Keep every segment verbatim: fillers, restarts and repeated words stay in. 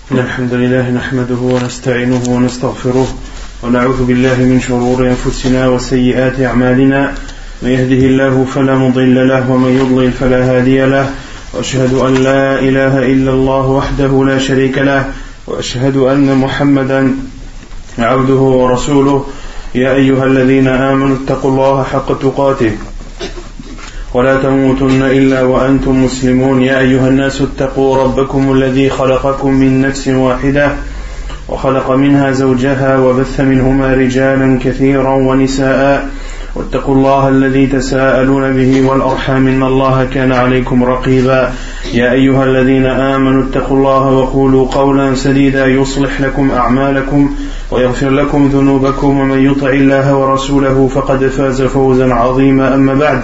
الحمد لله نحمده ونستعينه ونستغفره ونعوذ بالله من شرور أنفسنا وسيئات أعمالنا من يهده الله فلا مضل له ومن يضلل فلا هادي له وأشهد أن لا إله إلا الله وحده لا شريك له وأشهد أن محمدا عبده ورسوله يا أيها الذين آمنوا اتقوا الله حق تقاته ولا تموتن إلا وأنتم مسلمون يا أيها الناس اتقوا ربكم الذي خلقكم من نفس واحدة وخلق منها زوجها وبث منهما رجالا كثيرا ونساء واتقوا الله الذي تساءلون به والأرحام إن الله كان عليكم رقيبا يا أيها الذين آمنوا اتقوا الله وقولوا قولا سديدا يصلح لكم أعمالكم ويغفر لكم ذنوبكم ومن يطع الله ورسوله فقد فاز فوزا عظيما أما بعد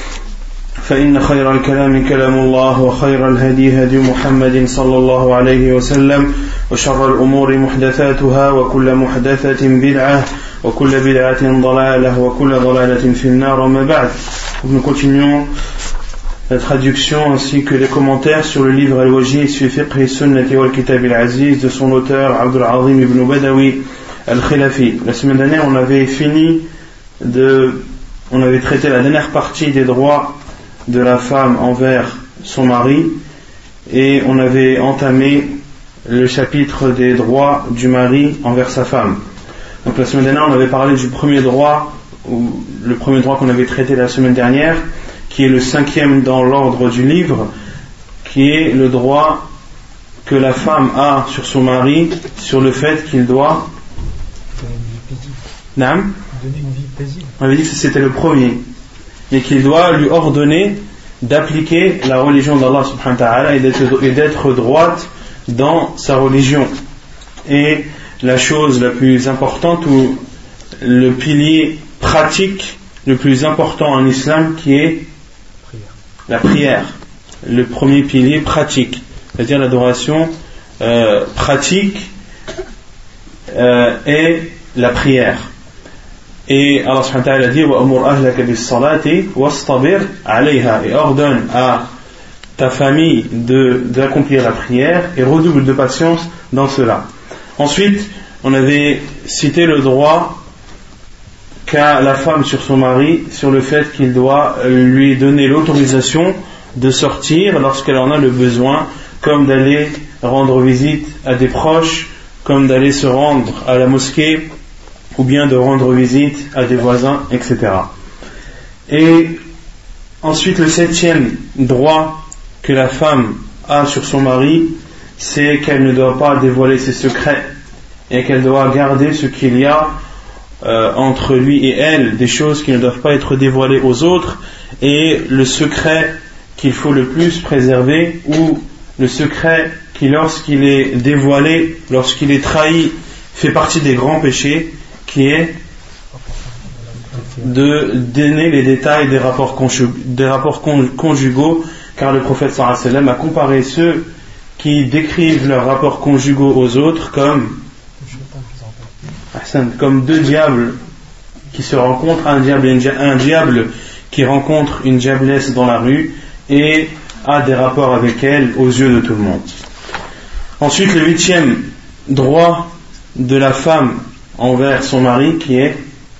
فإن خير الكلام كلام الله وخير الهدي هدي محمد صلى الله عليه وسلم وشر الأمور محدثاتها وكل محدثة بدعة وكل بدعة ضلالة وكل ضلالة في النار وما بعد. Nous continuons la traduction ainsi que les commentaires sur le livre Al-Wajiz fi Fiqh Sunnati wal Kitab al-Aziz de son auteur Abdul Azim ibn Badawi al-Khilafi. La semaine dernière, on avait fini de, on avait traité la dernière partie des droits de la femme envers son mari et on avait entamé le chapitre des droits du mari envers sa femme. Donc la semaine dernière on avait parlé du premier droit, ou le premier droit qu'on avait traité la semaine dernière, qui est le cinquième dans l'ordre du livre, qui est le droit que la femme a sur son mari, sur le fait qu'il doit donner une vie paisible. On avait dit que c'était le premier, et qu'il doit lui ordonner d'appliquer la religion d'Allah subhanahu wa ta'ala et d'être, et d'être droite dans sa religion. Et la chose la plus importante ou le pilier pratique le plus important en islam qui est la prière, le premier pilier pratique, c'est-à-dire l'adoration euh, pratique euh, est la prière. Et Allah subhanahu wa ta'ala dit وَأَمُرْ أَهْلَكَ بِالصَّلَاةِ وَاسْطَبِرْ عَلَيْهَا, et ordonne à ta famille de, d'accomplir la prière et redouble de patience dans cela. Ensuite, on avait cité le droit qu'a la femme sur son mari sur le fait qu'il doit lui donner l'autorisation de sortir lorsqu'elle en a le besoin, comme d'aller rendre visite à des proches, comme d'aller se rendre à la mosquée, ou bien de rendre visite à des voisins, et cetera. Et ensuite, le septième droit que la femme a sur son mari, c'est qu'elle ne doit pas dévoiler ses secrets et qu'elle doit garder ce qu'il y a euh, entre lui et elle, des choses qui ne doivent pas être dévoilées aux autres, et le secret qu'il faut le plus préserver, ou le secret qui, lorsqu'il est dévoilé, lorsqu'il est trahi, fait partie des grands péchés, qui est de donner les détails des rapports, conjug- des rapports conjugaux, car le prophète sallallahu alayhi wa sallam a comparé ceux qui décrivent leurs rapports conjugaux aux autres comme, comme deux diables qui se rencontrent, un diable, et un diable qui rencontre une diablesse dans la rue et a des rapports avec elle aux yeux de tout le monde. Ensuite, le huitième droit de la femme envers son mari, qui est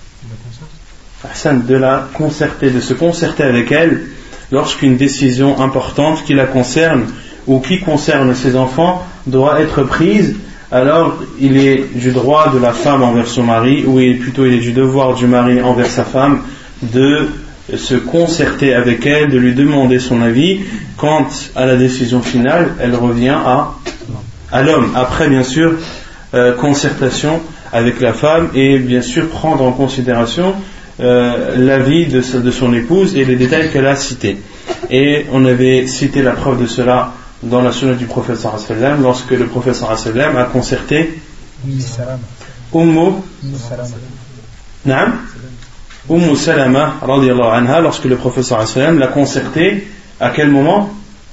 de la concerter, de se concerter avec elle lorsqu'une décision importante qui la concerne ou qui concerne ses enfants doit être prise. Alors il est du droit de la femme envers son mari, ou plutôt il est du devoir du mari envers sa femme de se concerter avec elle, de lui demander son avis. Quant à la décision finale, elle revient à, à l'homme, après bien sûr euh, concertation avec la femme, et bien sûr prendre en considération euh, l'avis de, de son épouse et les détails qu'elle a cités. Et on avait cité la preuve de cela dans la sunna du prophète sallallahu alayhi wa sallam, lorsque le prophète sallallahu alayhi wa sallam a concerté Ummu Naam Ummu Salama radiyallahu anha, lorsque le prophète sallallahu alayhi wa sallam l'a concerté à quel moment?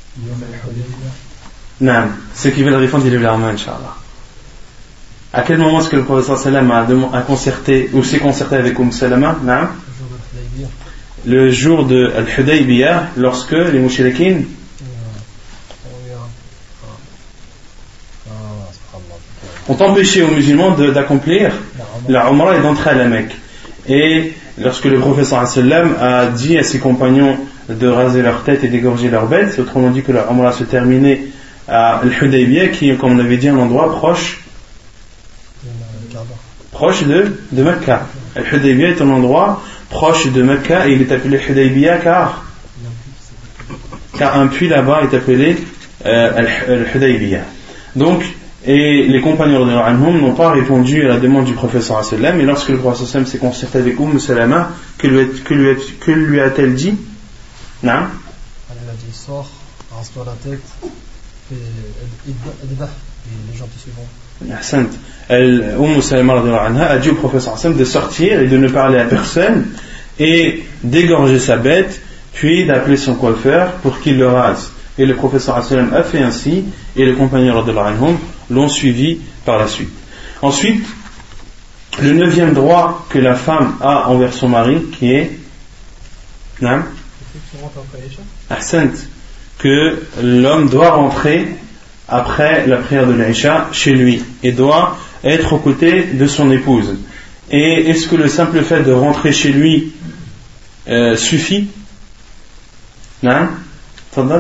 Naam, ceux qui veulent répondre, ils lèvent la main, Inch'Allah. À quel moment est-ce que le prophète sallallahu alayhi wa sallam a concerté ou s'est concerté avec Umm Salama? Naam. Le jour de Al-Hudaybiyah, lorsque les mouchriquines ont empêché aux musulmans de, d'accomplir la Umrah et d'entrer à la Mecque. Et lorsque le prophète sallallahu alayhi wa sallam a dit à ses compagnons de raser leur tête et d'égorger leurs bêtes, autrement dit que la Umrah se terminait à Al-Hudaybiyah, qui est, comme on l'avait dit, un endroit proche proche de, de Mecca. Al-Hudaybiyah est un endroit proche de Mecca et il est appelé Hudaybiyah car car un puits là-bas est appelé euh, Al-Hudaybiyah. Donc, et les compagnons n'ont pas répondu à la demande du prophète sallallahu alayhi wa sallam, et lorsque le prophète sallallahu alayhi wa sallam s'est concerté avec Umm Salama, que lui, que lui, que lui a-t-elle dit? Non? Elle a dit, sors, rase-toi la tête, et les gens te suivront. Ahsant. Elle, Umm Salama a dit au prophète sallallahu alayhi wa sallam de sortir et de ne parler à personne, et d'égorger sa bête, puis d'appeler son coiffeur pour qu'il le rase. Et le prophète sallallahu alayhi wa sallam a fait ainsi, et les compagnons radhiyallahu anhum l'ont suivi par la suite. Ensuite, le neuvième droit que la femme a envers son mari, qui est non, Ahsant, que l'homme doit rentrer après la prière de l'Isha chez lui et doit être aux côtés de son épouse. Et est-ce que le simple fait de rentrer chez lui euh, suffit? Non? Tadal?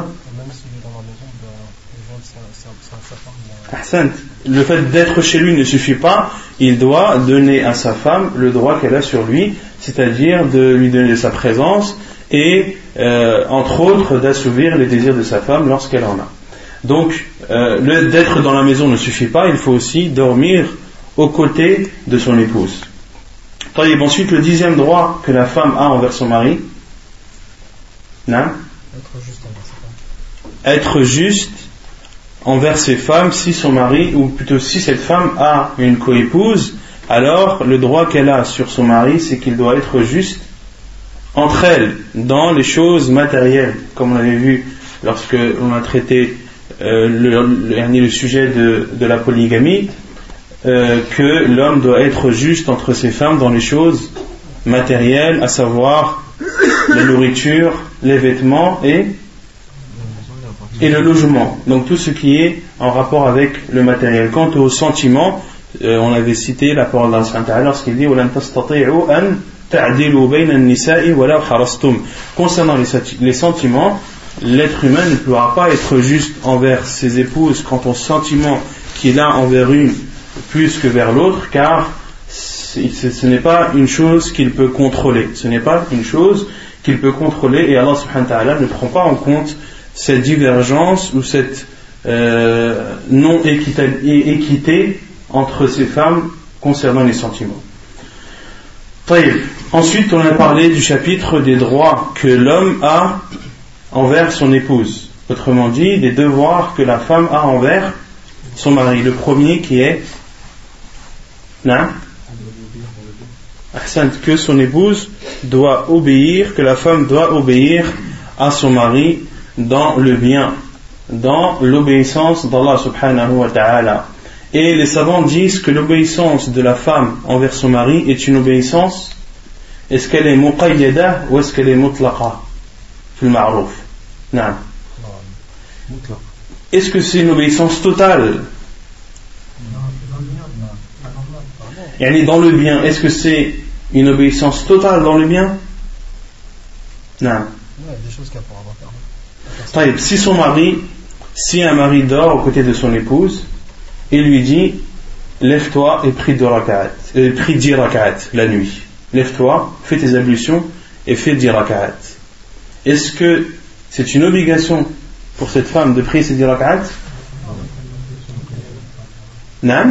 Ahsant. Le fait d'être chez lui ne suffit pas, il doit donner à sa femme le droit qu'elle a sur lui, c'est-à-dire de lui donner sa présence et euh, entre autres d'assouvir les désirs de sa femme lorsqu'elle en a. Donc euh, le, d'être dans la maison ne suffit pas, il faut aussi dormir aux côtés de son épouse. Et ensuite, le dixième droit que la femme a envers son mari, non? Être juste envers sa femme. Être juste envers ses femmes, si son mari, ou plutôt si cette femme a une coépouse, alors le droit qu'elle a sur son mari, c'est qu'il doit être juste entre elles, dans les choses matérielles, comme on avait vu lorsque on a traité euh, le, le, le sujet de, de la polygamie, euh, que l'homme doit être juste entre ses femmes dans les choses matérielles, à savoir la nourriture, les vêtements et et le logement, donc tout ce qui est en rapport avec le matériel. Quant aux sentiments, euh, on avait cité la parole d'Allah subhanahu wa ta'ala lorsqu'il dit وَلَن تَسْتَطِيعُوا أَن تَعْدِلُوا بَيْنَ النِّسَاءِ وَلَوْ حَرَصْتُمْ. Concernant les, les sentiments, l'être humain ne pourra pas être juste envers ses épouses quant aux sentiments qu'il a envers une plus que vers l'autre, car ce n'est pas une chose qu'il peut contrôler, ce n'est pas une chose qu'il peut contrôler, et Allah subhanahu wa ta'ala ne prend pas en compte cette divergence ou cette euh, non-équité entre ces femmes concernant les sentiments. Ensuite, on a parlé du chapitre des droits que l'homme a envers son épouse. Autrement dit, des devoirs que la femme a envers son mari. Le premier qui est là, que son épouse doit obéir, que la femme doit obéir à son mari dans le bien, dans l'obéissance d'Allah subhanahu wa ta'ala. Et les savants disent que l'obéissance de la femme envers son mari est une obéissance, est-ce qu'elle est muqayyada ou est-ce qu'elle est mutlaqa fil ma'ruf? Non. Est-ce que c'est une obéissance totale? Yani dans le bien, est-ce que c'est une obéissance totale dans le bien? Non. Des choses qu'elle pourra faire. Si son mari, si un mari dort aux côtés de son épouse, il lui dit lève-toi et prie deux rak'at, euh, prie dix rak'at la nuit. Lève-toi, fais tes ablutions et fais dix rak'at. Est-ce que c'est une obligation pour cette femme de prier ces dix rak'at? Non.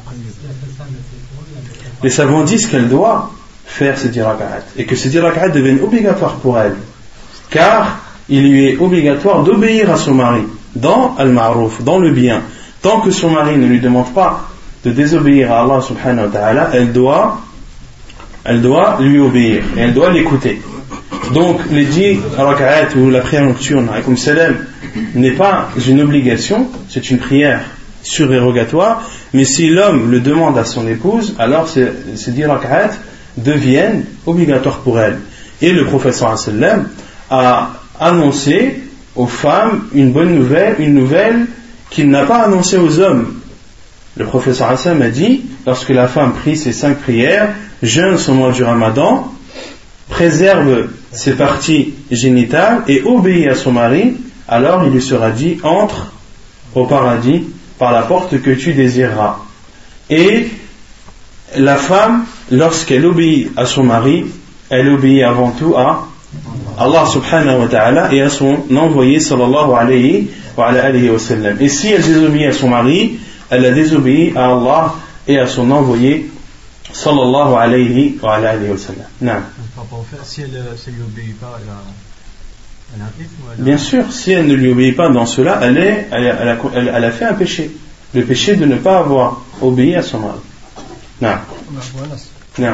Les savants disent qu'elle doit faire ces dix rak'at et que ces dix rak'at deviennent obligatoires pour elle, car il lui est obligatoire d'obéir à son mari dans al-ma'ruf, dans le bien. Tant que son mari ne lui demande pas de désobéir à Allah subhanahu wa ta'ala, elle doit, elle doit lui obéir et elle doit l'écouter. Donc les dix rak'at ou la prière nocturne alaykoum salam n'est pas une obligation, c'est une prière surérogatoire, mais si l'homme le demande à son épouse, alors ces, ces dix rak'at deviennent obligatoires pour elle. Et le prophète sallallahu alayhi wa sallam a annoncé aux femmes une bonne nouvelle, une nouvelle qu'il n'a pas annoncée aux hommes. Le prophète sallallahu alayhi wa sallam a dit, lorsque la femme prie ses cinq prières, jeûne son mois du Ramadan, préserve ses parties génitales et obéit à son mari, alors il lui sera dit, entre au paradis par la porte que tu désireras. Et la femme, lorsqu'elle obéit à son mari, elle obéit avant tout à Allah subhanahu wa ta'ala et à son envoyé sallallahu alayhi wa alayhi wa sallam. Et si elle désobéit à son mari, elle a désobéi à Allah et à son envoyé sallallahu alayhi wa alayhi wa sallam. Non. Si elle ne lui obéit pas, elle a, elle a un rythme, elle a... Bien sûr, si elle ne lui obéit pas dans cela, elle, est, elle, a, elle, a, elle, elle a fait un péché. Le péché de ne pas avoir obéi à son mari. Non. Non.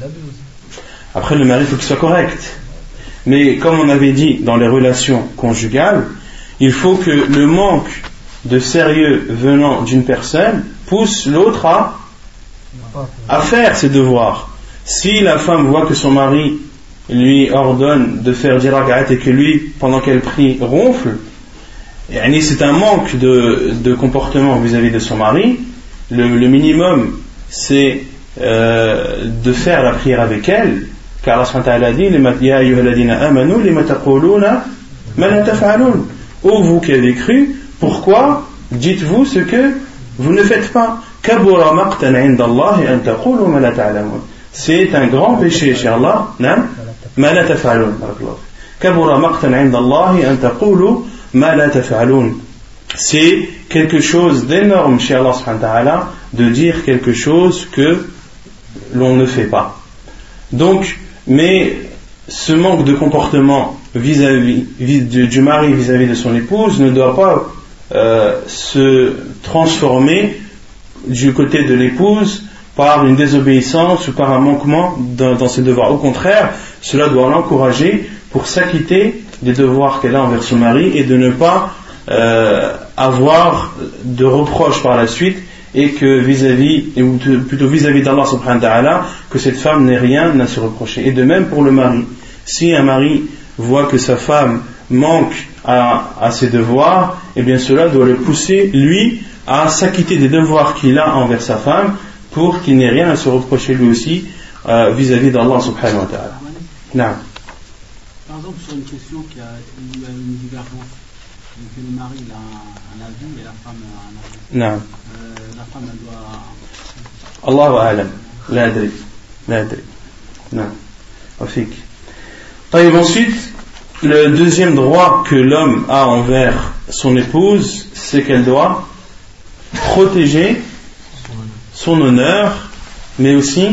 Après, le mari, il faut qu'il soit correct. Mais comme on avait dit dans les relations conjugales, il faut que le manque de sérieux venant d'une personne pousse l'autre à, à faire ses devoirs. Si la femme voit que son mari lui ordonne de faire dix rak'at et que lui, pendant qu'elle prie, ronfle, c'est un manque de, de comportement vis-à-vis de son mari. Le, le minimum, c'est euh, de faire la prière avec elle, car Allah subhanahu wa ta'ala dit Ya ayyuhalladhina amanu lima taquluna ma la taf'alun. Ô vous qui avez cru, pourquoi dites-vous ce que vous ne faites pas? Kabura maqtan 'inda Allah an taqulu ma la ta'lamun. C'est un grand péché chez Allah, non? Ma la taf'alun. Kabura maqtan 'inda Allah an taqulu ma la taf'alun. C'est quelque chose d'énorme chez Allah subhanahu wa ta'ala de dire quelque chose que l'on ne fait pas. Donc, mais ce manque de comportement vis-à-vis du mari vis-à-vis de son épouse ne doit pas euh, se transformer du côté de l'épouse par une désobéissance ou par un manquement dans, dans ses devoirs. Au contraire, cela doit l'encourager pour s'acquitter des devoirs qu'elle a envers son mari et de ne pas euh, avoir de reproches par la suite, et que vis-à-vis, ou plutôt vis-à-vis d'Allah subhanahu wa ta'ala, que cette femme n'ait rien à se reprocher. Et de même pour le mari. Si un mari voit que sa femme manque à, à ses devoirs, eh bien cela doit le pousser, lui, à s'acquitter des devoirs qu'il a envers sa femme, pour qu'il n'ait rien à se reprocher lui aussi euh, vis-à-vis d'Allah subhanahu wa ta'ala. Non. Par exemple, sur une question qui a, il y a une divergence, que le mari il a un, un avis et la femme a un avis. Non. La femme elle doit. Allahu a'lam. La adri. La adri. Non. Afik. Et ensuite, le deuxième droit que l'homme a envers son épouse, c'est qu'elle doit protéger son honneur, mais aussi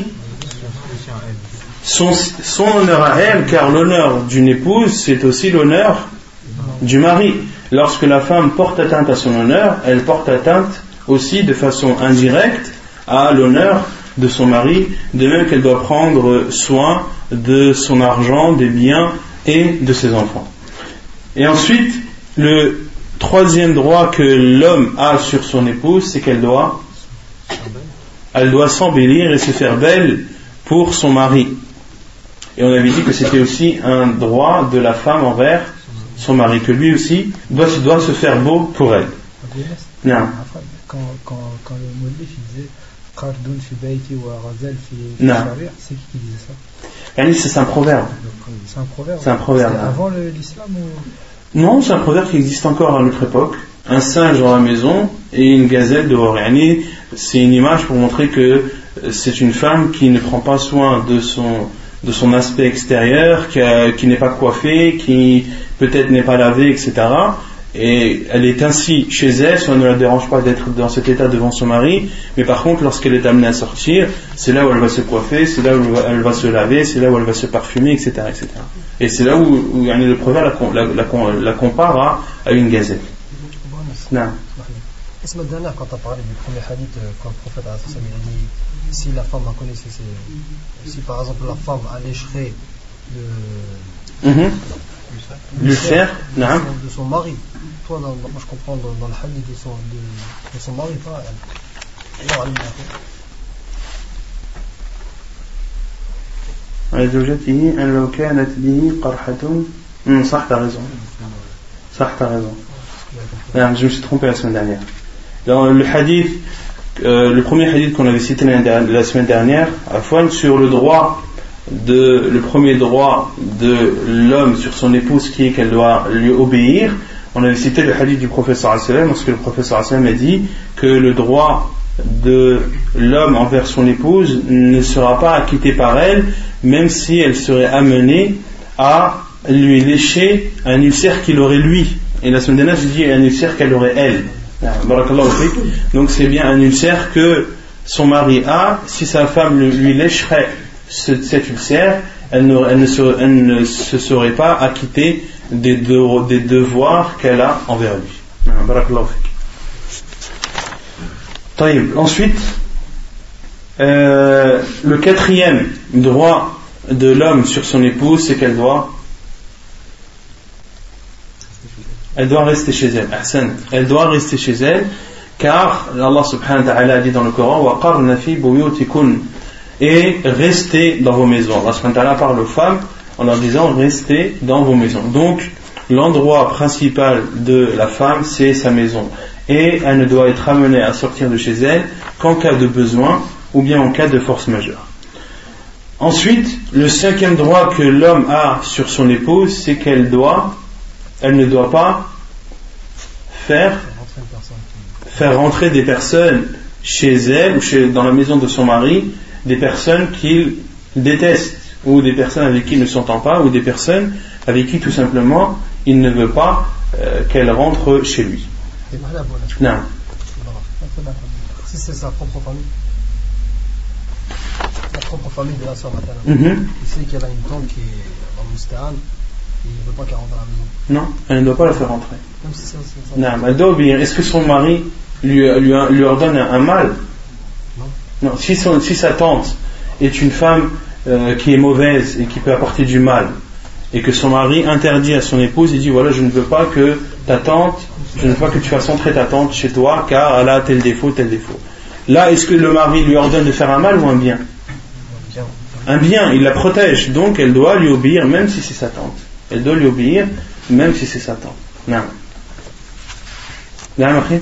son, son honneur à elle, car l'honneur d'une épouse, c'est aussi l'honneur du mari. Lorsque la femme porte atteinte à son honneur, elle porte atteinte aussi de façon indirecte à l'honneur de son mari, de même qu'elle doit prendre soin de son argent, des biens et de ses enfants. Et ensuite, le troisième droit que l'homme a sur son épouse, c'est qu'elle doit elle doit s'embellir et se faire belle pour son mari. Et on avait dit que c'était aussi un droit de la femme envers son mari, que lui aussi doit, doit se faire beau pour elle. Non. Quand, quand, quand le Moulif disait Qardoun fi bayti wa ghazal fi sharia, c'est qui qui disait ça? Yani, c'est un proverbe. C'est un proverbe. C'est un proverbe. C'était avant le, l'islam ou... Non, c'est un proverbe qui existe encore à notre époque. Un singe dans la maison et une gazelle dehors. Yani, c'est une image pour montrer que c'est une femme qui ne prend pas soin de son, de son aspect extérieur, qui, a, qui n'est pas coiffée, qui peut-être n'est pas lavée, et cetera. Et elle est ainsi chez elle, ça ne la dérange pas d'être dans cet état devant son mari, mais par contre lorsqu'elle est amenée à sortir, c'est là où elle va se coiffer, c'est là où elle va se laver, c'est là où elle va se parfumer, et cetera, et cetera. Et c'est là où, où le proverbe la, la, la, la compare à, à une gazelle. Non. La semaine dernière, quand tu as parlé du premier hadith, quand le prophète a dit si la femme a connaissé, si par exemple la femme allécherait le, mm-hmm. le fer de, de, de son mari, toi, dans, moi je comprends dans, dans le hadith de son, de, de son mari, pas elle. زوجته أن لو كانت به قرحة. صح, t'as raison. صح, t'as raison. Non, je me suis trompé la semaine dernière. Dans le hadith euh, le premier hadith qu'on avait cité la, la semaine dernière, Afwan, sur le droit de, le premier droit de l'homme sur son épouse qui est qu'elle doit lui obéir. On avait cité le hadith du prophète sallallahu alayhi wa sallam, lorsque le prophète sallallahu alayhi wa sallam a dit que le droit de l'homme envers son épouse ne sera pas acquitté par elle, même si elle serait amenée à lui lécher un ulcère qu'il aurait lui. Et la semaine dernière, j'ai dit un ulcère qu'elle aurait elle. Donc c'est bien un ulcère que son mari a. Si sa femme lui lécherait ce, cet ulcère, elle ne, elle, ne se, elle ne se serait pas acquittée des, de, des devoirs qu'elle a envers lui. Ensuite, euh, le quatrième droit de l'homme sur son épouse, c'est qu'elle doit elle doit rester chez elle. Elle doit rester chez elle, car Allah subhanahu wa ta'ala a dit dans le Coran وَقَرْنَ فِي بُيُوتِكُنْ, et restez dans vos maisons. Allah subhanahu wa ta'ala parle aux femmes en leur disant restez dans vos maisons. Donc l'endroit principal de la femme, c'est sa maison, et elle ne doit être amenée à sortir de chez elle qu'en cas de besoin ou bien en cas de force majeure. Ensuite, le cinquième droit que l'homme a sur son épouse, c'est qu'elle doit elle ne doit pas faire faire rentrer des personnes chez elle ou chez, dans la maison de son mari, des personnes qu'il déteste ou des personnes avec qui il ne s'entend pas ou des personnes avec qui tout simplement il ne veut pas euh, qu'elle rentre chez lui. Non. Si c'est sa propre famille, la propre famille de la soeur maternelle, mm-hmm. il sait qu'elle a une tante qui est en Moustaan, il ne veut pas qu'elle rentre à la maison. Non, elle ne doit pas la faire rentrer. Même si c'est, c'est, c'est non, elle doit obéir. Est-ce que son mari lui, lui, lui ordonne un, un mal? Non. Non. Si, son, si sa tante est une femme euh, qui est mauvaise et qui peut apporter du mal, et que son mari interdit à son épouse, il dit voilà, je ne veux pas que ta tante, je ne veux pas que tu fasses entrer ta tante chez toi car elle a tel défaut, tel défaut. Là, est-ce que le mari lui ordonne de faire un mal ou un bien? Un bien, il la protège, donc elle doit lui obéir même si c'est sa tante. Elle doit lui obéir même si c'est sa tante. Non. Non, après?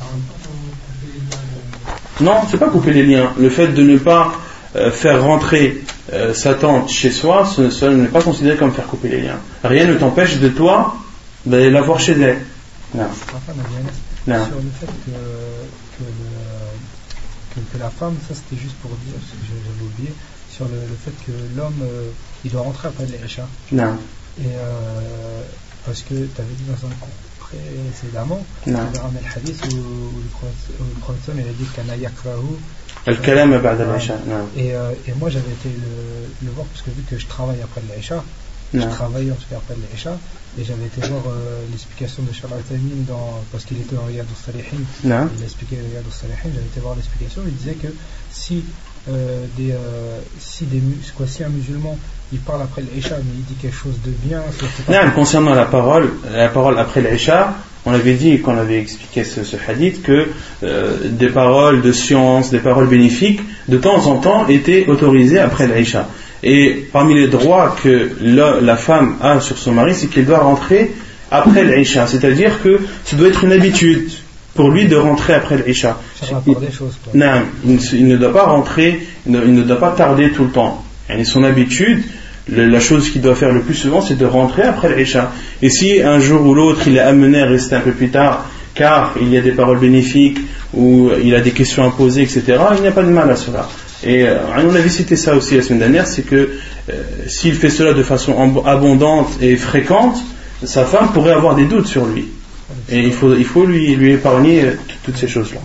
Non, c'est pas couper les liens. Le fait de ne pas euh, faire rentrer euh, sa tante chez soi, ce, ce n'est pas considéré comme faire couper les liens. Rien ne t'empêche de toi d'aller la voir chez elle. Non. Non. Sur le fait que, que, le, que, que la femme, ça c'était juste pour dire, parce que j'avais oublié, sur le, le fait que l'homme, euh, il doit rentrer après l'Isha. Non. Et euh, parce que tu avais dit dans un cours précédemment, tu avais ramené le hadith où, où le prophète il a dit qu'un yakrahu al-kalam ba'da al-isha. Et, euh, et moi j'avais été le, le voir parce que vu que je travaille après l'Isha, je travaillais en tout cas après l'Isha, et j'avais été voir euh, l'explication de Cheikh Al-Uthaymeen parce qu'il était en Riyad al-Salihin. Il a expliqué Riyad al-Salihin, j'avais été voir l'explication, il disait que si Euh, des, euh, si, des, quoi, si un musulman il parle après l'Isha mais il dit quelque chose de bien, non, concernant la parole, la parole après l'Isha, on avait dit quand on avait expliqué ce, ce hadith que euh, des paroles de science, des paroles bénéfiques de temps en temps étaient autorisées après l'Isha. Et parmi les droits que la, la femme a sur son mari, c'est qu'elle doit rentrer après l'Isha, c'est-à-dire que ça doit être une habitude pour lui de rentrer après l'Isha. Il, non, il, il ne doit pas rentrer, il ne, il ne doit pas tarder tout le temps. Et son habitude, le, la chose qu'il doit faire le plus souvent, c'est de rentrer après l'Isha. Et si un jour ou l'autre il est amené à rester un peu plus tard, car il y a des paroles bénéfiques, ou il a des questions à poser, et cetera, il n'y a pas de mal à cela. Et euh, on avait cité ça aussi la semaine dernière, c'est que euh, s'il fait cela de façon abondante et fréquente, sa femme pourrait avoir des doutes sur lui. Et il faut, il faut lui, lui épargner toutes ces choses-là.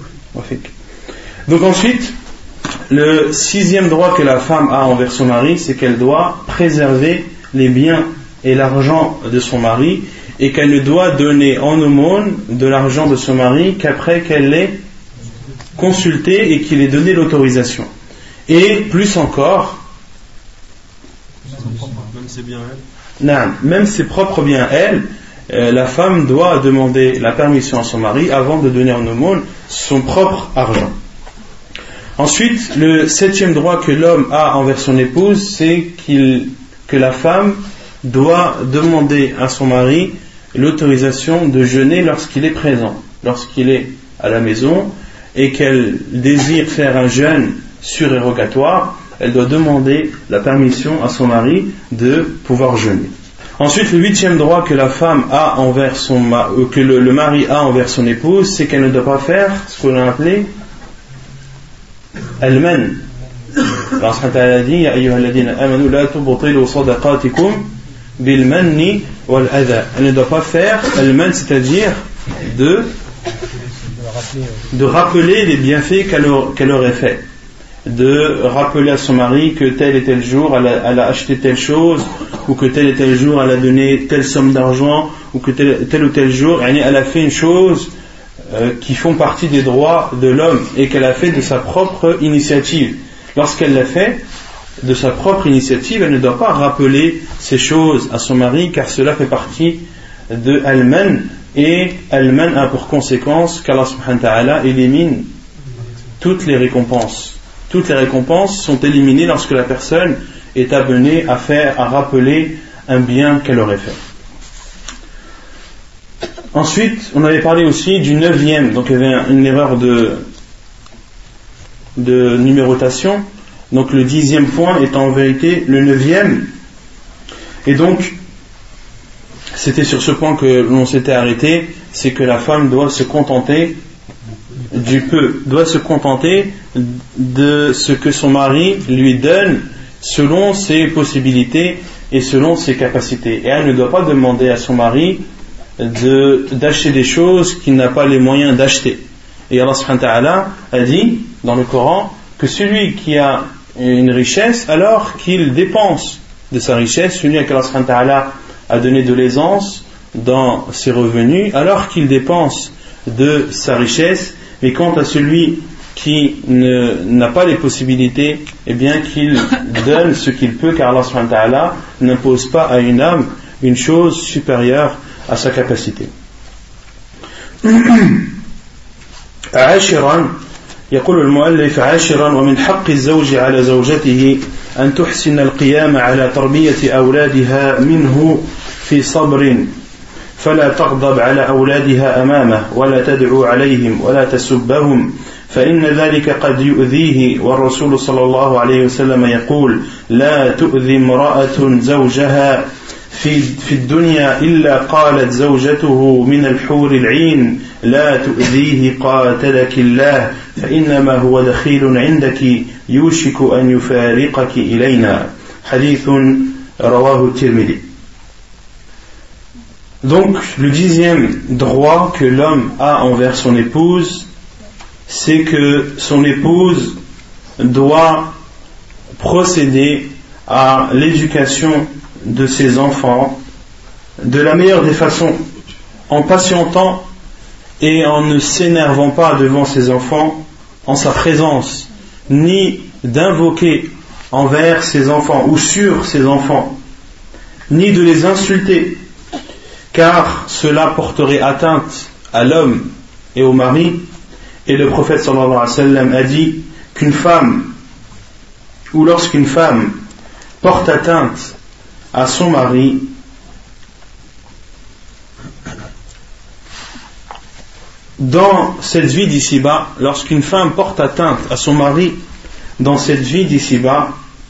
Donc ensuite, le sixième droit que la femme a envers son mari, c'est qu'elle doit préserver les biens et l'argent de son mari, et qu'elle ne doit donner en aumône de l'argent de son mari qu'après qu'elle l'ait consulté et qu'il ait donné l'autorisation. Et plus encore, même ses biens à elle, non, même ses propres biens à elle, Euh, la femme doit demander la permission à son mari avant de donner en aumône son propre argent. Ensuite, le septième droit que l'homme a envers son épouse, c'est qu'il, que la femme doit demander à son mari l'autorisation de jeûner lorsqu'il est présent, lorsqu'il est à la maison, et qu'elle désire faire un jeûne surérogatoire, elle doit demander la permission à son mari de pouvoir jeûner. Ensuite, le huitième droit que la femme a envers son ma- que le, le mari a envers son épouse, c'est qu'elle ne doit pas faire ce qu'on a appelé al-man. Allah subhanahu wa ta'ala dit ya ayyuhalladhina amanu la tubtilu sadaqatikum bil manni wal adha. Elle ne doit pas faire al-man, c'est-à-dire de de rappeler les bienfaits qu'elle, qu'elle aurait fait, de rappeler à son mari que tel et tel jour elle a, elle a acheté telle chose, ou que tel et tel jour elle a donné telle somme d'argent, ou que tel, tel ou tel jour elle a fait une chose euh, qui font partie des droits de l'homme et qu'elle a fait de sa propre initiative. Lorsqu'elle l'a fait de sa propre initiative, elle ne doit pas rappeler ces choses à son mari, car cela fait partie de al-man, et al-man a pour conséquence qu'Allah subhanahu wa ta'ala élimine toutes les récompenses. Toutes les récompenses sont éliminées lorsque la personne est amenée à faire, à rappeler un bien qu'elle aurait fait. Ensuite, on avait parlé aussi du neuvième, donc il y avait une erreur de, de numérotation. Donc le dixième point est en vérité le neuvième. Et donc, c'était sur ce point que l'on s'était arrêté, c'est que la femme doit se contenter du peu, doit se contenter de ce que son mari lui donne selon ses possibilités et selon ses capacités. Et elle ne doit pas demander à son mari de, d'acheter des choses qu'il n'a pas les moyens d'acheter. Et Allah subhanahu wa ta'ala a dit dans le Coran que celui qui a une richesse, alors qu'il dépense de sa richesse, celui à qui Allah subhanahu wa ta'ala a donné de l'aisance dans ses revenus, alors qu'il dépense de sa richesse. Mais quant à celui qui ne, n'a pas les possibilités, eh bien qu'il donne ce qu'il peut, car Allah subhanahu wa ta'ala n'impose pas à une âme une chose supérieure à sa capacité. عاشرا يقول المؤلف عاشرا ومن حق الزوج على زوجته أن تحسن القيام على تربية أولادها منه في صبر فلا تغضب على أولادها أمامه ولا تدعو عليهم ولا تسبهم فإن ذلك قد يؤذيه والرسول صلى الله عليه وسلم يقول لا تؤذي امرأة زوجها في في الدنيا إلا قالت زوجته من الحور العين لا تؤذيه قاتلك الله فإنما هو دخيل عندك يوشك أن يفارقك إلينا حديث رواه الترمذي. Donc, le dixième droit que l'homme a envers son épouse, c'est que son épouse doit procéder à l'éducation de ses enfants de la meilleure des façons, en patientant et en ne s'énervant pas devant ses enfants en sa présence, ni d'invoquer envers ses enfants ou sur ses enfants, ni de les insulter, car cela porterait atteinte à l'homme et au mari. Et le prophète sallallahu alayhi wa sallam a dit qu'une femme, ou lorsqu'une femme porte atteinte à son mari, dans cette vie d'ici-bas, lorsqu'une femme porte atteinte à son mari dans cette vie d'ici-bas,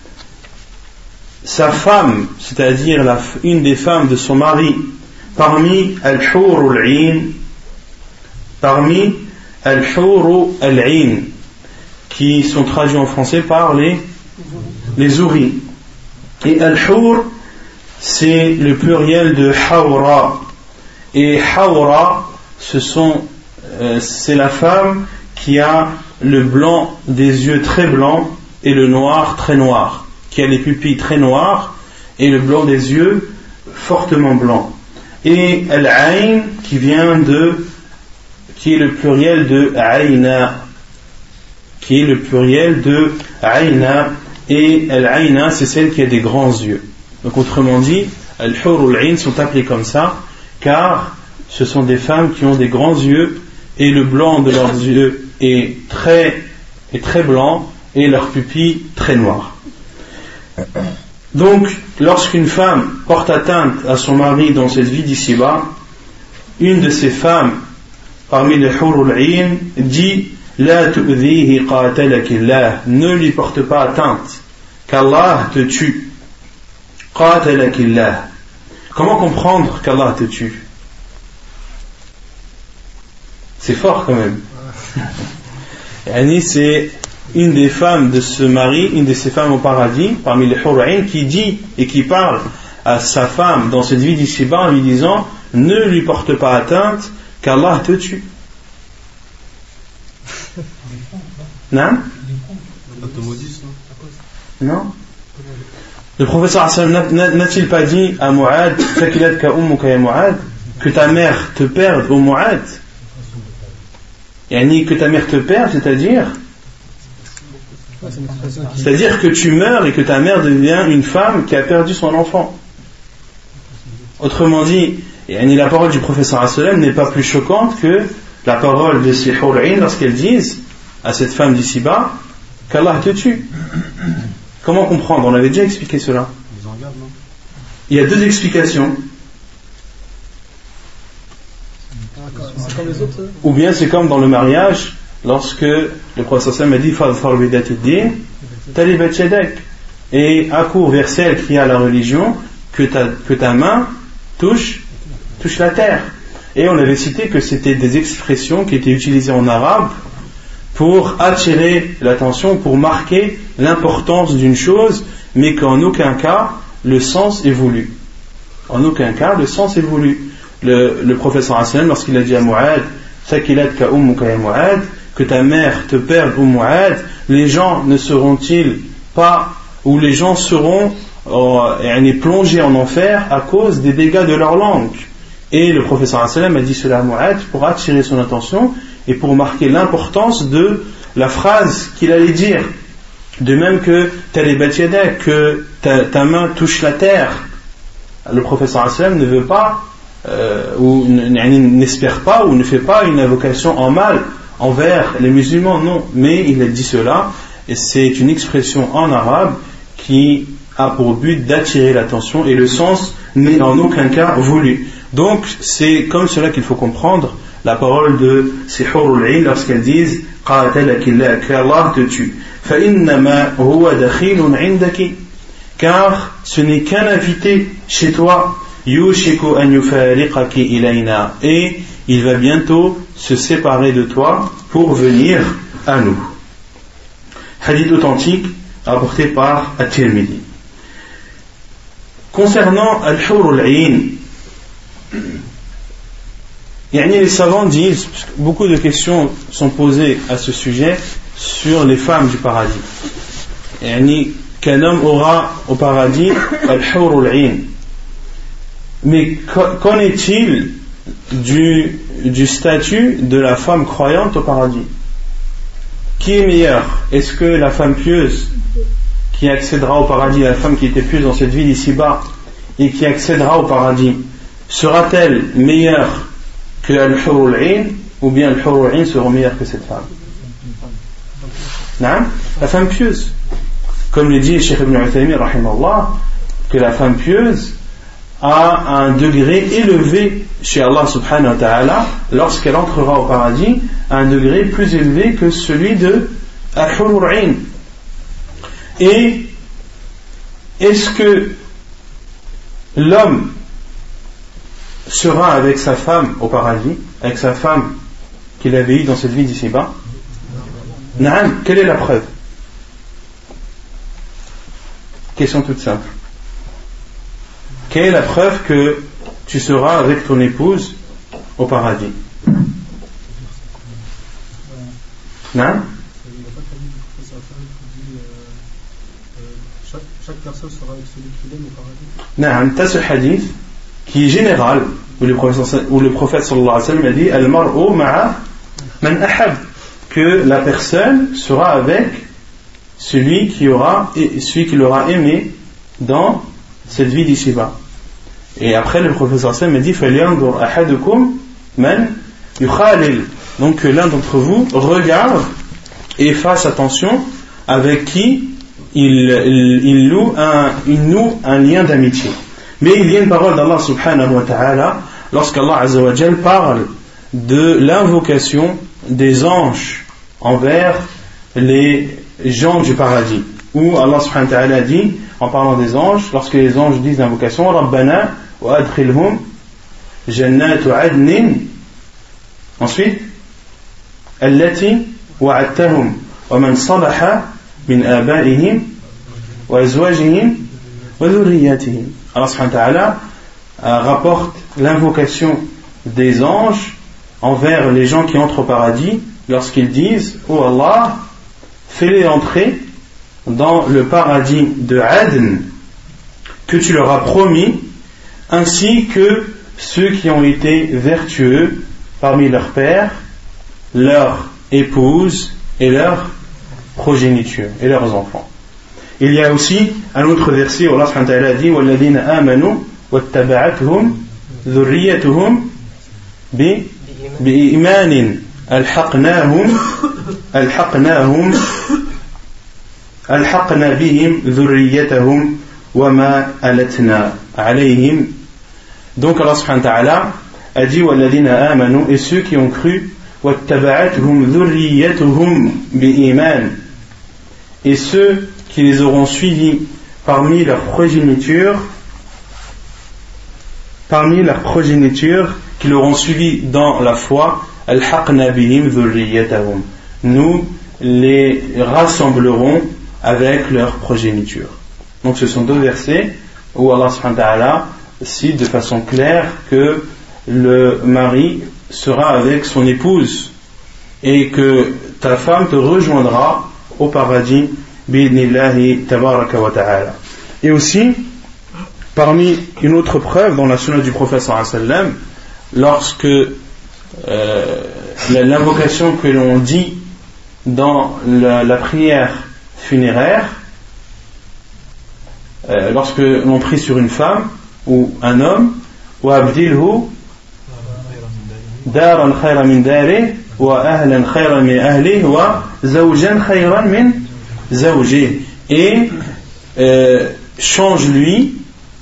sa femme, c'est-à-dire la, une des femmes de son mari, parmi al-hur al-'ain, parmi al-hur al-'ain, qui sont traduits en français par les les ouris. Et al-hur, c'est le pluriel de hawra, et hawra, ce sont euh, c'est la femme qui a le blanc des yeux très blanc et le noir très noir, qui a les pupilles très noires et le blanc des yeux fortement blanc. Et al-'ain qui vient de, qui est le pluriel de aïna, qui est le pluriel de aïna, et al-aïna c'est celle qui a des grands yeux. Donc autrement dit, al-hur ou al-'ain sont appelés comme ça car ce sont des femmes qui ont des grands yeux et le blanc de leurs yeux est très, est très blanc et leurs pupilles très noires. Donc, lorsqu'une femme porte atteinte à son mari dans cette vie d'ici-bas, une de ces femmes, parmi les hur al-'ain, dit La tu'dhihi qatalakillah, ne lui porte pas atteinte, qu'Allah te tue. Qatalakillah. Comment comprendre qu'Allah te tue? C'est fort quand même. Yani c'est une des femmes de ce mari, une de ces femmes au paradis, parmi les Hur'ain, qui dit et qui parle à sa femme dans cette vie d'ici-bas en lui disant: ne lui porte pas atteinte, qu'Allah te tue. Non? Non? Le professeur n'a-t-il pas dit à Mu'ad, que ta mère te perde au Mu'ad? Yani que ta mère te perde, c'est-à-dire c'est-à-dire que tu meurs et que ta mère devient une femme qui a perdu son enfant. Autrement dit, yani la parole du professeur sallam n'est pas plus choquante que la parole de ces Hur'ain lorsqu'elles disent à cette femme d'ici-bas qu'Allah te tue. Comment comprendre? On avait déjà expliqué cela. Il y a deux explications. Ou bien c'est comme dans le mariage, lorsque le prophète sallam a dit Fadfar bidati din talibat yadak, et accours vers celle qui a la religion, que ta, que ta main touche, touche la terre. Et on avait cité que c'était des expressions qui étaient utilisées en arabe pour attirer l'attention, pour marquer l'importance d'une chose, mais qu'en aucun cas le sens est voulu. En aucun cas le sens est voulu. Le, le professeur sallam, lorsqu'il a dit à Mu'ad, Sakilatka ummuka ya Mu'ad, que ta mère te perde au Mu'ad, les gens ne seront-ils pas, ou les gens seront euh, plongés en enfer à cause des dégâts de leur langue. Et le professeur sallam a dit cela à Mu'ad pour attirer son attention et pour marquer l'importance de la phrase qu'il allait dire. De même que talibat yadak, que ta, ta main touche la terre. Le professeur sallam ne veut pas Euh, ou n'espère pas ou ne fait pas une invocation en mal envers les musulmans, non, mais il a dit cela et c'est une expression en arabe qui a pour but d'attirer l'attention et le sens n'est en aucun cas voulu. Donc c'est comme cela qu'il faut comprendre la parole de ces Hurul Ain lorsqu'elles disent qatalakillah, qu'Allah te tue, fa innama huwa dakhilun indaki, car ce n'est qu'un invité chez toi. Yushiku an yufariqaki ilayna, et il va bientôt se séparer de toi pour venir à nous. Hadith authentique apporté par At-Tirmidhi. Concernant Al-Hurul Ain, yani les savants disent, beaucoup de questions sont posées à ce sujet sur les femmes du paradis. Yani qu'un homme aura au paradis Al-Hurul Ain. Mais qu'en est-il du, du statut de la femme croyante au paradis? Qui est meilleur? Est-ce que la femme pieuse qui accédera au paradis, la femme qui était pieuse dans cette vie d'ici-bas et qui accédera au paradis, sera-t-elle meilleure que Al-Hurul Ain, ou bien Al-Hurul Ain sera meilleure que cette femme? Non? La femme pieuse. Comme le dit Cheikh Ibn Uthaymin rahimahullah, que la femme pieuse à un degré élevé chez Allah subhanahu wa ta'ala lorsqu'elle entrera au paradis, à un degré plus élevé que celui de Al-Hurul Ain. Et est-ce que l'homme sera avec sa femme au paradis, avec sa femme qu'il avait eue dans cette vie d'ici-bas? Naam, quelle est la preuve? Question toute simple. Quelle est la preuve que tu seras avec ton épouse au paradis? Non? Chaque personne sera avec celui qu'il aime au paradis. Non, tu as ce hadith qui est général, où le prophète, où le prophète sallallahu alayhi wa sallam a dit Al-mar'u ma'a man ahab, que la personne sera avec celui qui aura, celui qui l'aura aimé dans cette vie d'ici-bas. Et après le professeur Sam a dit falyanzur ahadukum man yukhalil, donc que l'un d'entre vous regarde et fasse attention avec qui il, il, il, loue un, il noue un lien d'amitié. Mais il y a une parole d'Allah subhanahu wa ta'ala lorsqu'Allah azza wa jal parle de l'invocation des anges envers les gens du paradis. Où Allah subhanahu wa ta'ala dit, en parlant des anges, lorsque les anges disent l'invocation, Rabbana wa adkhilhum jannatu adnin, ensuite, allati wa'adtahum wa man salaha min abaihim wa azwajihim wa dhurriyyatihim. Allah subhanahu wa ta'ala rapporte l'invocation des anges envers les gens qui entrent au paradis lorsqu'ils disent « Oh Allah, fais-les entrer dans le paradis de Adn que tu leur as promis, ainsi que ceux qui ont été vertueux parmi leurs pères, leurs épouses et leurs progénitures et leurs enfants. » Il y a aussi un autre verset où Allah subhanahu wa ta'ala dit « وَالَّذِينَ آمَنُوا وَاتَّبَعَتْهُمْ ذُرِّيَّتُهُمْ بِإِيمَانٍ أَلْحَقْنَاهُمْ أَلْحَقْنَاهُمْ أَلْحَقْنَا بِهِمْ ذُرِّيَّتَهُمْ وَمَا أَلَتْنَا عَلَيْهِمْ » Donc Allah subhanahu wa ta'ala a dit وَالَّذِينَ آمَنُوا, et ceux qui ont cru, وَاتَّبَعَتْهُمْ ذُرِّيَّتُهُمْ بِإِيمَانٍ, et ceux qui les auront suivis parmi leur progéniture, parmi leur progéniture, qui l'auront suivi dans la foi, al-haqna bihim dhurriyyatahum, nous les rassemblerons avec leur progéniture. Donc ce sont deux versets où Allah subhanahu wa ta'ala cite de façon claire que le mari sera avec son épouse et que ta femme te rejoindra au paradis bi'idnillahi tabaraka wa ta'ala. Et aussi, parmi une autre preuve dans la sunna du prophète sallallahu alayhi wa sallam, lorsque euh, l'invocation que l'on dit dans la, la prière funéraire, euh, lorsque l'on prie sur une femme ou un homme, wa abdilhu daran khayran min dari wa ahlan khayran min ahli wa zawjan khayran min zawji, et euh, change-lui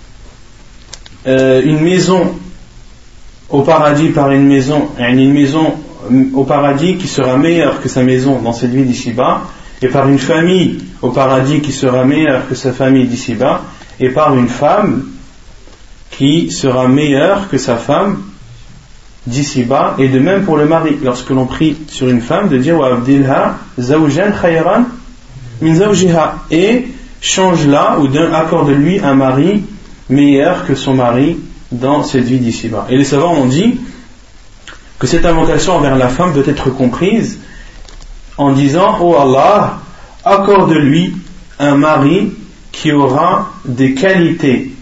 euh, une maison au paradis par une maison, une maison au paradis qui sera meilleure que sa maison dans cette vie d'ici-bas, et par une famille au paradis qui sera meilleure que sa famille d'ici-bas, et par une femme qui sera meilleure que sa femme d'ici-bas. Et de même pour le mari, lorsque l'on prie sur une femme, de dire wa abdilha zawjan khayran min zawjiha, et change-la ou accorde-lui un mari meilleur que son mari dans cette vie d'ici-bas. Et les savants ont dit que cette invocation envers la femme doit être comprise en disant oh Allah, accorde-lui un mari qui aura des qualités,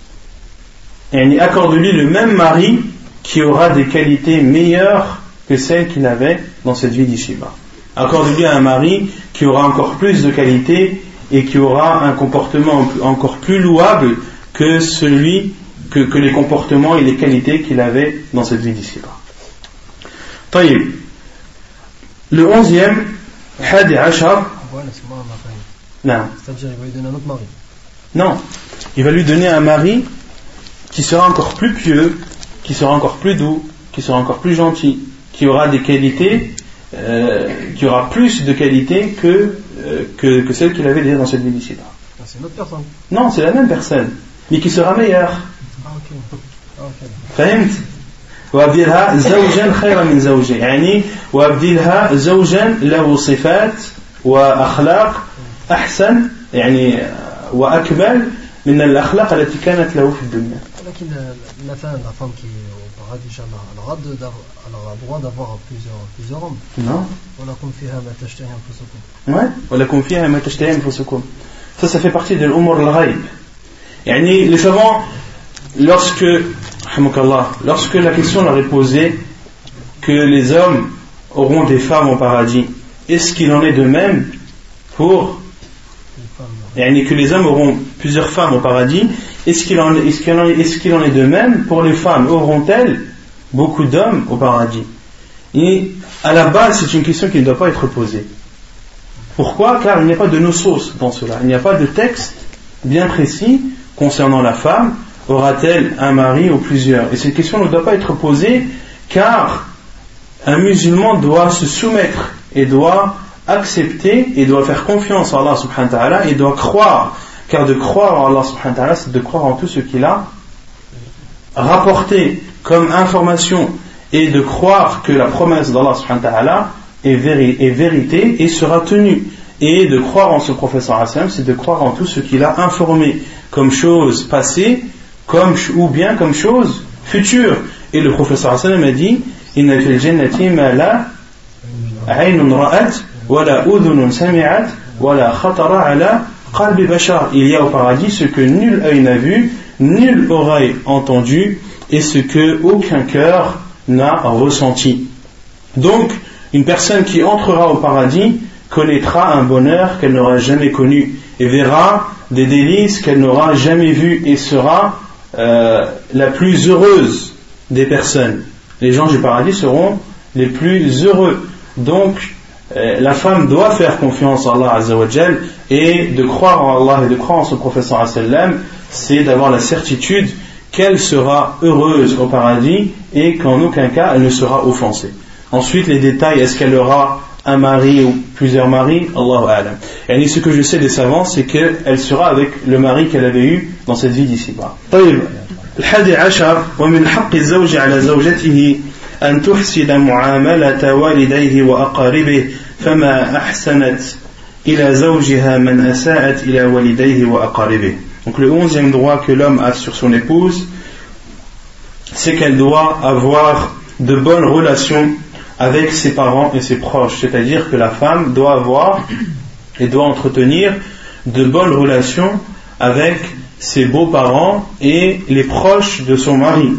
et accorde-lui le même mari qui aura des qualités meilleures que celles qu'il avait dans cette vie d'ici-bas. Accorde-lui un mari qui aura encore plus de qualités et qui aura un comportement encore plus louable que celui que, que les comportements et les qualités qu'il avait dans cette vie d'ici-bas. Taïb. Le onzième, Hadi Ashar. Non. C'est-à-dire, il va lui donner un autre mari. Non. Il va lui donner un mari qui sera encore plus pieux, qui sera encore plus doux, qui sera encore plus gentil, qui aura des qualités, euh, qui aura plus de qualités que, euh, que, que celles qu'il avait déjà dans cette vie d'ici-bas. Ah, c'est une autre personne. Non, c'est la même personne, mais qui sera meilleure. Ah, ok. Ah, ok. فهمت؟ وأبدلها زوجا خيرا من زوجه، يعني وأبدلها زوجا له صفات وأخلاق أحسن يعني وأكمل من الأخلاق التي كانت له في الدنيا. لكن la femme, la femme qui est au paradis, Inch'Allah, elle aura le droit d'avoir plusieurs, plusieurs hommes. Non. ولكم فيها ما تشتهي أنفسكم. Ouais. ولكم فيها ما تشتهي أنفسكم. Ça, ça fait partie de l'umur al-ghaib. يعني les savants, lorsque, lorsque la question leur est posée que les hommes auront des femmes au paradis, est-ce qu'il en est de même pour يعني que les hommes auront plusieurs femmes au paradis, est-ce qu'il en, est, est-ce qu'il en, est, est-ce qu'il en est de même pour les femmes, auront-elles beaucoup d'hommes au paradis? Et à la base, c'est une question qui ne doit pas être posée. Pourquoi? Car il n'y a pas de nosos dans cela, il n'y a pas de texte bien précis concernant la femme. Aura-t-elle un mari ou plusieurs? Et cette question ne doit pas être posée, car un musulman doit se soumettre et doit accepter et doit faire confiance à Allah subhanahu wa ta'ala et doit croire, car de croire en Allah subhanahu wa ta'ala, c'est de croire en tout ce qu'il a rapporté comme information et de croire que la promesse d'Allah subhanahu wa ta'ala est, véri- est vérité et sera tenue. Et de croire en ce prophète sallallahu alayhi wa sallam, c'est de croire en tout ce qu'il a informé comme chose passée comme, ou bien comme chose future. Et le prophète sallallahu alayhi wa sallam a dit inna fil jannati ma la aynun ra'at wa la udhunun sami'at wa la khatara ala qalbi bashar. Il y a au paradis ce que nul œil n'a vu, nulle oreille entendu et ce que aucun cœur n'a ressenti. Donc une personne qui entrera au paradis connaîtra un bonheur qu'elle n'aura jamais connu et verra des délices qu'elle n'aura jamais vues et sera euh, la plus heureuse des personnes. Les gens du paradis seront les plus heureux. Donc euh, la femme doit faire confiance à Allah Azza wa Jal, et de croire en Allah et de croire en son prophète sallallahu alayhi wa sallam, c'est d'avoir la certitude qu'elle sera heureuse au paradis et qu'en aucun cas elle ne sera offensée. Ensuite les détails, est-ce qu'elle aura un mari ou plusieurs maris, Allahu a'lam. Et ce que je sais des savants, c'est qu'elle sera avec le mari qu'elle avait eu dans cette vie d'ici-bas. طيب الحادي عشر ومن حق الزوج على زوجته أن تحسن معاملة والديه وأقاربه فما أحسنت إلى زوجها من أساءت إلى والديه وأقاربه. Donc le onzième droit que l'homme a sur son épouse, c'est qu'elle doit avoir de bonnes relations avec ses parents et ses proches, c'est-à-dire que la femme doit avoir et doit entretenir de bonnes relations avec ses beaux-parents et les proches de son mari.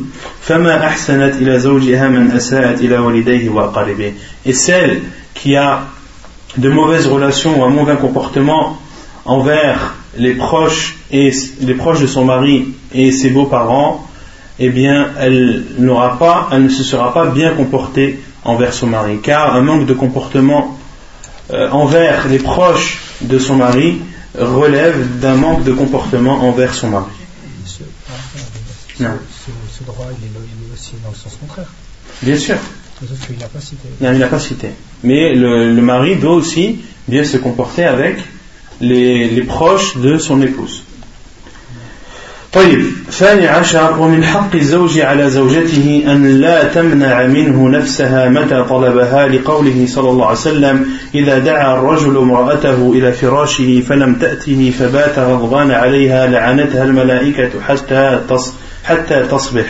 Et celle qui a de mauvaises relations ou un mauvais comportement envers les proches et les proches de son mari et ses beaux-parents, eh bien elle n'aura pas, elle ne se sera pas bien comportée envers son mari, car un manque de comportement euh, envers les proches de son mari relève d'un manque de comportement envers son mari. Ce, ce, ce droit il est, il est aussi dans le sens contraire. Bien sûr. Sauf qu'il n'a pas cité. Non, il n'a pas cité. Mais le, le mari doit aussi bien se comporter avec les, les proches de son épouse. طيب ثاني عشر ومن حق الزوج على زوجته أن لا تمنع منه نفسها متى طلبها لقوله صلى الله عليه وسلم إذا دعا الرجل امرأته إلى فراشه فلم تأته فبات غضبان عليها لعنتها الملائكة حتى حتى تصبح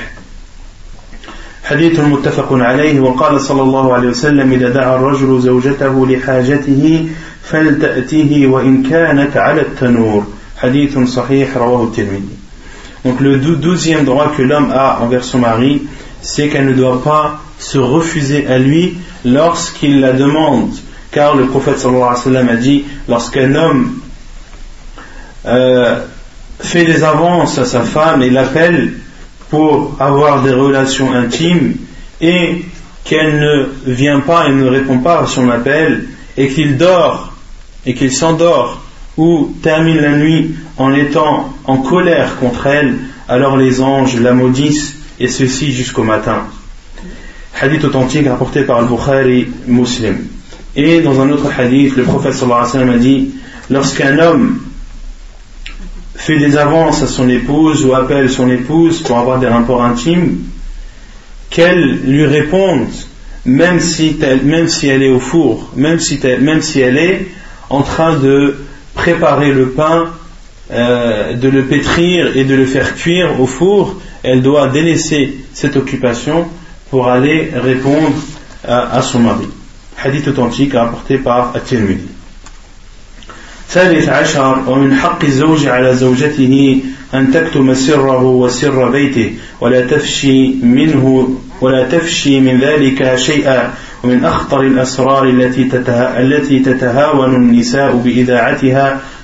حديث متفق عليه. وقال صلى الله عليه وسلم إذا دعا الرجل زوجته لحاجته فلتأته وإن كانت على التنور حديث صحيح رواه الترمذي. Donc le douzième droit que l'homme a envers son mari, c'est qu'elle ne doit pas se refuser à lui lorsqu'il la demande, car le prophète sallallahu alayhi wa sallam a dit, lorsqu'un homme euh, fait des avances à sa femme et l'appelle pour avoir des relations intimes et qu'elle ne vient pas et ne répond pas à son appel et qu'il dort et qu'il s'endort ou termine la nuit en étant en colère contre elle, alors les anges la maudissent, et ceci jusqu'au matin. Hadith authentique rapporté par Al-Bukhari Muslim. Et dans un autre hadith, le prophète sallallahu alayhi wa sallam a dit, lorsqu'un homme fait des avances à son épouse ou appelle son épouse pour avoir des rapports intimes, qu'elle lui réponde, même si, même si elle est au four, même si, même si elle est en train de préparer le pain, euh, de le pétrir et de le faire cuire au four, elle doit délaisser cette occupation pour aller répondre à, à son mari. Hadith authentique rapporté par At-Tirmidhi. ثالث عشر ومن حق الزوج على زوجته أن تكتم سره وسر بيته ولا تفشي منه ولا تفشي من ذلك شيئا ومن أخطر الأسرار التي التي تتهاون النساء بإذاعتها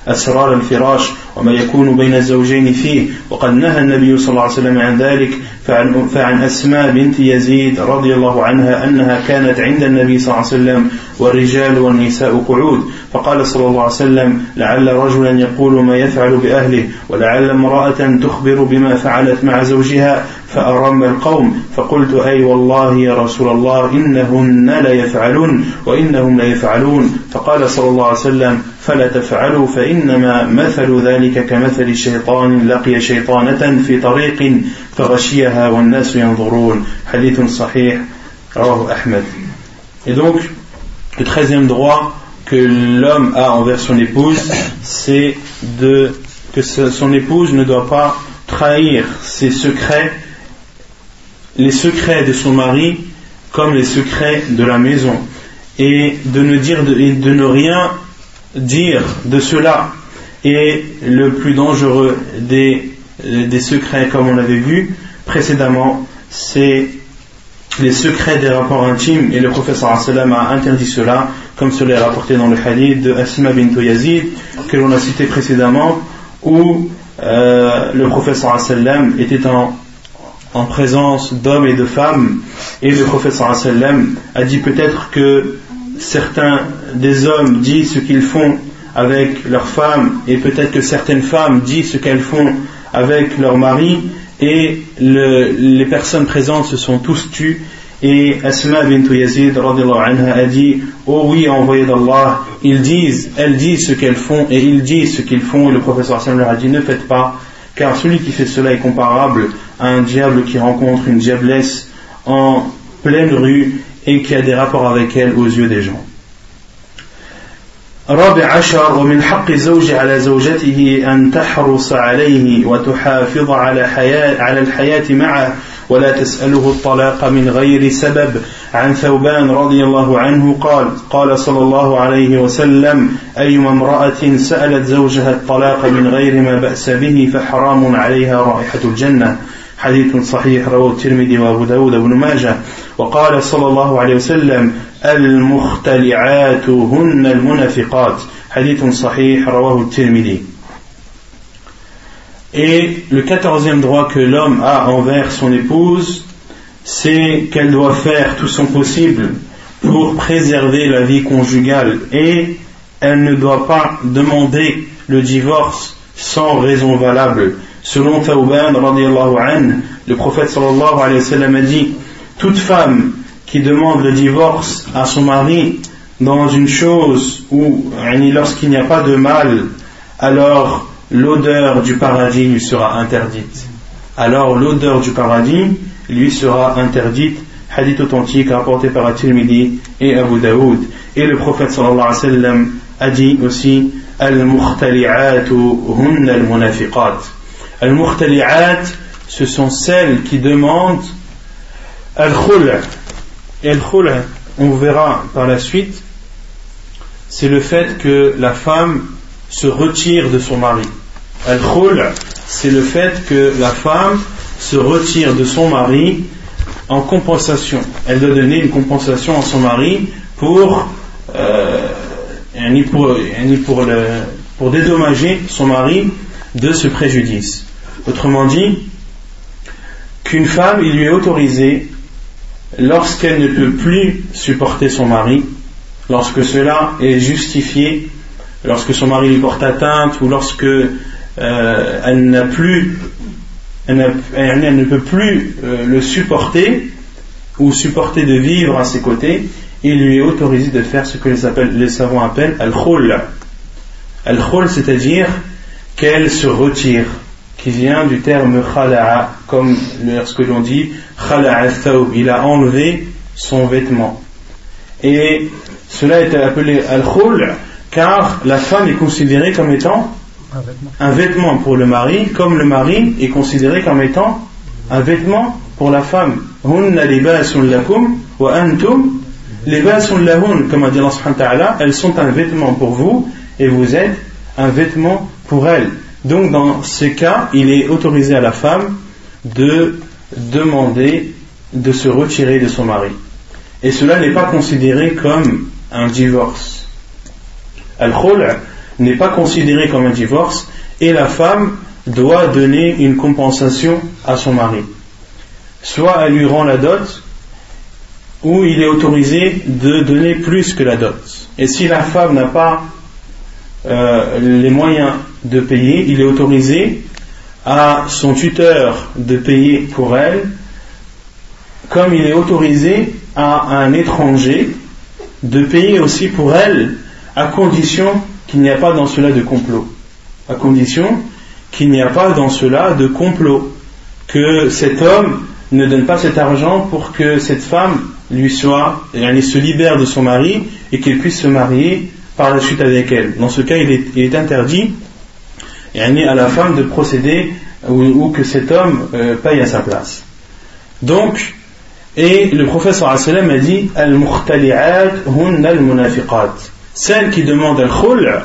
أسرار الفراش وما يكون بين الزوجين فيه وقد نهى النبي صلى الله عليه وسلم عن ذلك فعن, فعن أسماء بنت يزيد رضي الله عنها أنها كانت عند النبي صلى الله عليه وسلم والرجال والنساء قعود فقال صلى الله عليه وسلم لعل رجلا يقول ما يفعل بأهله ولعل امرأة تخبر بما فعلت مع زوجها فأرم القوم فقلت أي والله يا رسول الله إنهن لا يفعلون وإنهم لا يفعلون فقال صلى الله عليه وسلم فلا تفعلوا فإنما مثل ذلك كمثل شيطان لقي شيطانة في طريق فغشيها والناس ينظرون حديث صحيح رواه أحمد. Et donc le treizième droit que l'homme a envers son épouse, c'est de, que son épouse ne doit pas trahir ses secrets, les secrets de son mari comme les secrets de la maison, et de ne dire de, et de ne rien dire de cela. Et le plus dangereux des, des secrets, comme on l'avait vu précédemment, c'est les secrets des rapports intimes, et le prophète sallallahu alayhi wa sallam a interdit cela, comme cela est rapporté dans le hadith de Asma bint Yazid que l'on a cité précédemment, où euh, le prophète sallallahu alayhi wa sallam était en, en présence d'hommes et de femmes, et le prophète sallallahu alayhi wa sallam a dit peut-être que certains des hommes disent ce qu'ils font avec leurs femmes, et peut-être que certaines femmes disent ce qu'elles font avec leurs maris, et le, les personnes présentes se sont tous tues. Et Asma bint Yazid radiallahu anha a dit oh oui, envoyé d'Allah, ils disent, elles disent ce qu'elles font et ils disent ce qu'ils font. Et le prophète sallam leur a dit ne faites pas, car celui qui fait cela est comparable à un diable qui rencontre une diablesse en pleine rue et qui a des rapports avec elle aux yeux des gens. رابع عشر ومن حق الزوج على زوجته أن تحرص عليه وتحافظ على حياة على الحياة معه ولا تسأله الطلاق من غير سبب. عن ثوبان رضي الله عنه قال قال صلى الله عليه وسلم أيما امرأة سألت زوجها الطلاق من غير ما بأس به فحرام عليها رائحة الجنة. حديث صحيح رواه الترمذي وأبو داود وابن ماجه. وقال صلى الله عليه وسلم المختلعات هن المنافقات. حديث صحيح رواه الترمذي. Et le quatorzième droit que l'homme a envers son épouse, c'est qu'elle doit faire tout son possible pour préserver la vie conjugale, et elle ne doit pas demander le divorce sans raison valable. Selon Thawban radiyallahu anhu, le prophète sallallahu alayhi wa sallam a dit toute femme qui demande le divorce à son mari dans une chose où, lorsqu'il n'y a pas de mal, alors l'odeur du paradis lui sera interdite. Alors l'odeur du paradis lui sera interdite. Hadith authentique rapporté par At-Tirmidhi et Abu Daoud. Et le prophète sallallahu alayhi wa sallam a dit aussi Al-Mukhtali'atu hunna al-munafiqat. Al-Mukhtali'at, ce sont celles qui demandent Al-Khul'. Et Al-Khul', on verra par la suite, c'est le fait que la femme se retire de son mari. Al-Khul', c'est le fait que la femme se retire de son mari en compensation. Elle doit donner une compensation à son mari pour, euh, pour, pour, le, pour dédommager son mari de ce préjudice. Autrement dit, qu'une femme, il lui est autorisé, lorsqu'elle ne peut plus supporter son mari, lorsque cela est justifié, lorsque son mari lui porte atteinte, ou lorsque euh, elle n'a plus, elle, n'a, elle ne peut plus euh, le supporter, ou supporter de vivre à ses côtés, il lui est autorisé de faire ce que les, appellent, les savants appellent al-khul. Al-khul, c'est-à-dire qu'elle se retire, qui vient du terme khala'a, comme lorsque l'on dit khala'a thawb, il a enlevé son vêtement. Et cela est appelé al-khul car la femme est considérée comme étant un vêtement. un vêtement pour le mari, comme le mari est considéré comme étant un vêtement pour la femme. Hunna libasun lakum wa antum libasun lahun, comme a dit Allah subhanahu wa ta'ala, elles sont un vêtement pour vous et vous êtes un vêtement pour elles. Donc dans ce cas, il est autorisé à la femme de demander de se retirer de son mari. Et cela n'est pas considéré comme un divorce. Al-Khul', n'est pas considéré comme un divorce et la femme doit donner une compensation à son mari. Soit elle lui rend la dot, ou il est autorisé de donner plus que la dot. Et si la femme n'a pas euh, les moyens de payer, il est autorisé à son tuteur de payer pour elle, comme il est autorisé à un étranger de payer aussi pour elle, à condition qu'il n'y a pas dans cela de complot. À condition qu'il n'y a pas dans cela de complot, que cet homme ne donne pas cet argent pour que cette femme lui soit, elle se libère de son mari et qu'elle puisse se marier par la suite avec elle. Dans ce cas, il est, il est interdit à la femme de procéder ou, ou que cet homme euh, paye à sa place. Donc, et le prophète sallallahu alayhi wa sallam a dit al-mukhtali'at hunna al-munafiqat. Celles qui demandent al-khul',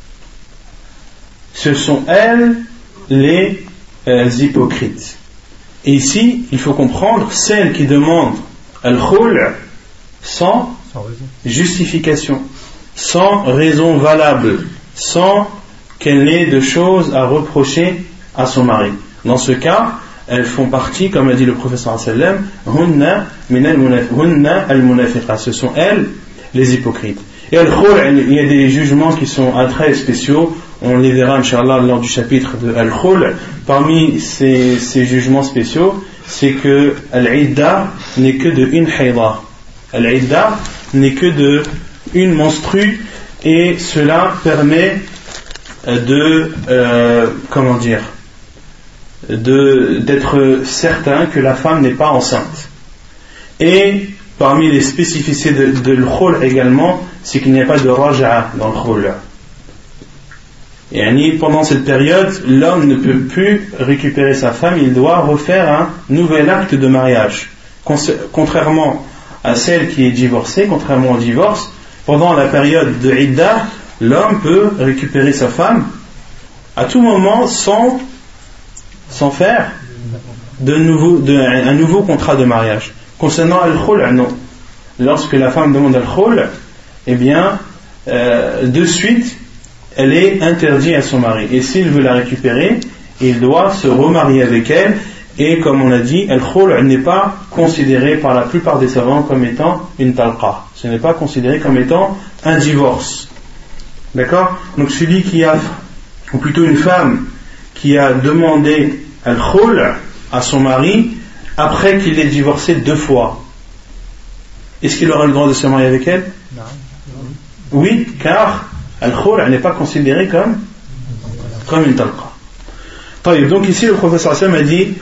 ce sont elles les euh, hypocrites. Et ici, il faut comprendre celles qui demandent al-khul' sans, sans justification, sans raison valable, sans qu'elle n'ait de choses à reprocher à son mari. Dans ce cas, elles font partie, comme a dit le prophète sallallahu alayhi wa sallam, hunna al-munafiqat, ce sont elles les hypocrites. Et al-khul', il y a des jugements qui sont très spéciaux, on les verra inchallah lors du chapitre de al-khul'. Parmi ces, ces jugements spéciaux, c'est que al-idda n'est que de une haïda. Al-idda n'est que de une menstrue, et cela permet de euh, comment dire de, d'être certain que la femme n'est pas enceinte. Et parmi les spécificités de, de l'khul' également, c'est qu'il n'y a pas de raja'a dans le khul'. Et pendant cette période, l'homme ne peut plus récupérer sa femme, il doit refaire un nouvel acte de mariage. Contrairement à celle qui est divorcée, contrairement au divorce, pendant la période de idda, l'homme peut récupérer sa femme à tout moment sans, sans faire de nouveau, de, un nouveau contrat de mariage. Concernant al-khul', non. Lorsque la femme demande al-khul', eh bien, euh, de suite, elle est interdite à son mari. Et s'il veut la récupérer, il doit se remarier avec elle. Et comme on a dit, al-khul' n'est pas considéré par la plupart des savants comme étant une talqa. Ce n'est pas considéré comme étant un divorce. D'accord ? Donc celui qui a, ou plutôt une femme qui a demandé al-khul' à son mari après qu'il ait divorcé deux fois, est-ce qu'il aura le droit de se marier avec elle ? Non. Oui, car al-khul' n'est pas considéré comme, comme une talqa. Donc ici le professeur Sam a dit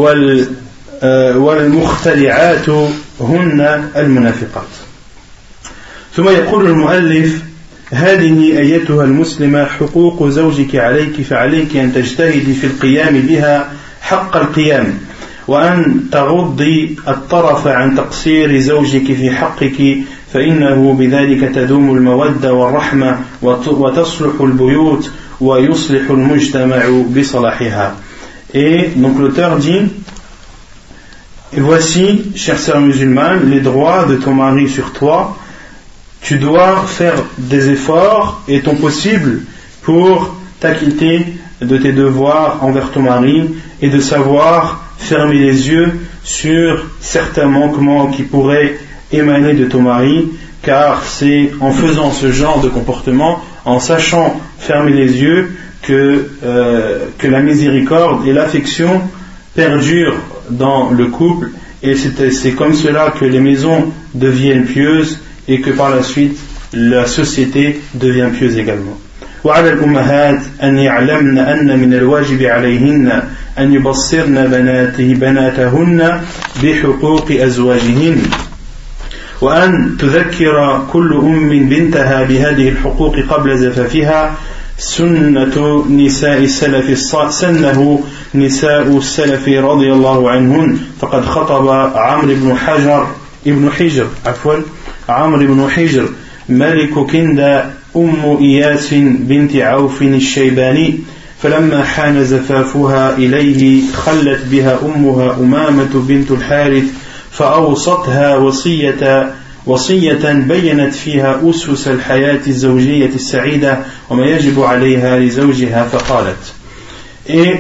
وَالْمُخْتَلِعَاتُ هُنَّ الْمُنَافِقَاتِ. ثم يقول المؤلف هذه أيتها المسلمة حقوق زوجك عليك فعليك أن تجتهدي في القيام بها حق القيام وأن تغضي الطرف عن تقصير زوجك في حقك فإنه بذلك تدوم المودة والرحمة وتصلح البيوت ويصلح المجتمع بصلاحها. Et donc l'auteur dit, et voici, chère sœur musulmane, les droits de ton mari sur toi. Tu dois faire des efforts et ton possible pour t'acquitter de tes devoirs envers ton mari et de savoir fermer les yeux sur certains manquements qui pourraient émaner de ton mari, car c'est en faisant ce genre de comportement, en sachant fermer les yeux, que, euh, que la miséricorde et l'affection perdurent dans le couple, et c'est, c'est comme cela que les maisons deviennent pieuses et que par la suite la société devient pieuse également. وعلى الأمهات أن يعلمن أن من الواجب عليهن أن يبصرن بناته بناتهن بحقوق أزواجهن وأن تذكر كل أم بنتها بهذه الحقوق قبل زفافها سنة نساء السلف سنه نساء السلف رضي الله عنهن فقد خطب عمرو بن حجر ابن حجر عفوا عمرو بن حجر ملك كندى أم إياس بنت عوف الشيباني فلما حان زفافها إليه خلت بها أمها أمامة بنت الحارث فأوصتها وصية وصية بينت فيها أسس الحياة الزوجية السعيدة وما يجب عليها لزوجها فقالت. Et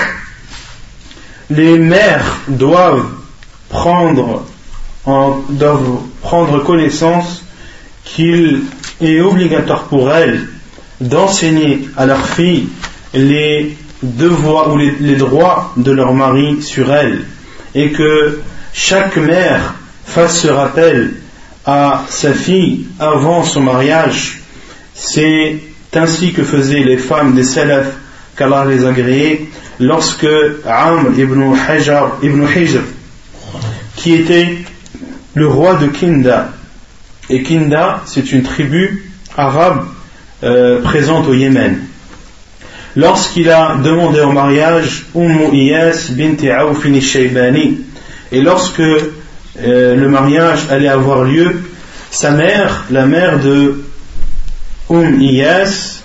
les mères doivent prendre, en, doivent prendre connaissance qu'il est obligatoire pour elles d'enseigner à leurs filles les devoirs ou les, les droits de leur mari sur elles, et que chaque mère fasse ce rappel à sa fille avant son mariage. C'est ainsi que faisaient les femmes des salaf, qu'Allah les a agréées, lorsque Amr ibn Hajar ibn Hijr, qui était le roi de Kinda, et Kinda c'est une tribu arabe euh, présente au Yémen, lorsqu'il a demandé en mariage Umm Iyas bint Auf al-Shaybani, et lorsque euh, le mariage allait avoir lieu, sa mère, la mère de Umm Iyas,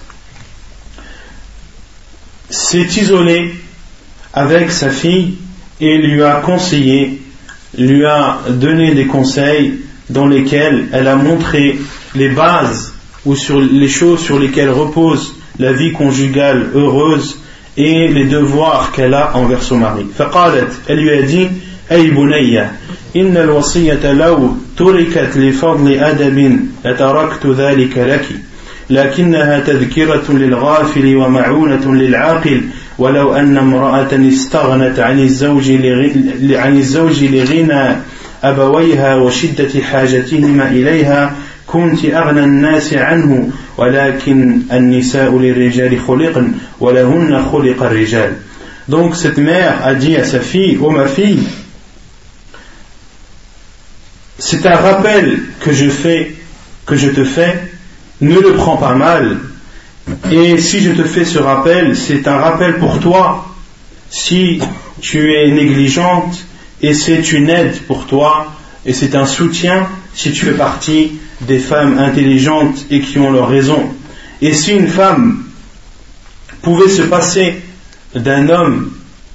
s'est isolée avec sa fille et lui a conseillé, lui a donné des conseils dans lesquels elle a montré les bases ou sur les choses sur lesquelles repose la vie conjugale heureuse et les devoirs qu'elle a envers son mari. فقالت, elle lui a dit: أي بني إن الوصية لو تركت لفضل أدب لتركت ذلك لك لكنها تذكرة للغافل ومعونة للعاقل ولو أن امرأة استغنت عن الزوج عن الزوج لغنى أبويها وشدة حاجتهما إليها كنت أغنى الناس عنه ولكن النساء للرجال خلقن ولهن خلق الرجال. Donc cette mère a dit à sa fille: oh ma fille, c'est un rappel que je fais, que je te fais, ne le prends pas mal, et si je te fais ce rappel, c'est un rappel pour toi si tu es négligente, et c'est une aide pour toi, et c'est un soutien si tu fais partie des femmes intelligentes et qui ont leur raison. Et si une femme pouvait se passer d'un homme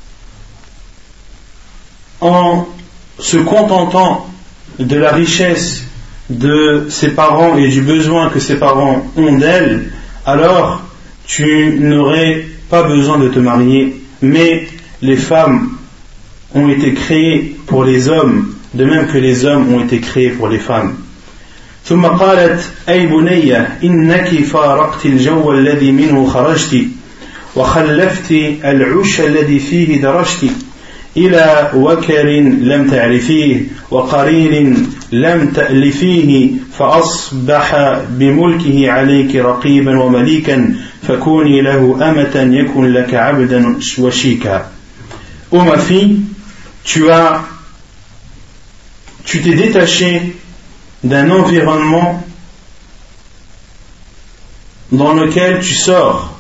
en se contentant de la richesse de ses parents et du besoin que ses parents ont d'elle, alors tu n'aurais pas besoin de te marier. Mais les femmes ont été créées pour les hommes, de même que les hommes ont été créés pour les femmes. ثم قالت: أي بني إنك فارقت الجو الذي منه خرجت وخلفت العش الذي فيه درجت إلى وكر لم تعرفيه وقرين لم تألفيه فأصبح بملكه عليك رقيبا ومليكا فكوني له أمة يكن لك عبدا وشيكا. Ô ma fille, tu as tu t'es détaché d'un environnement dans lequel tu sors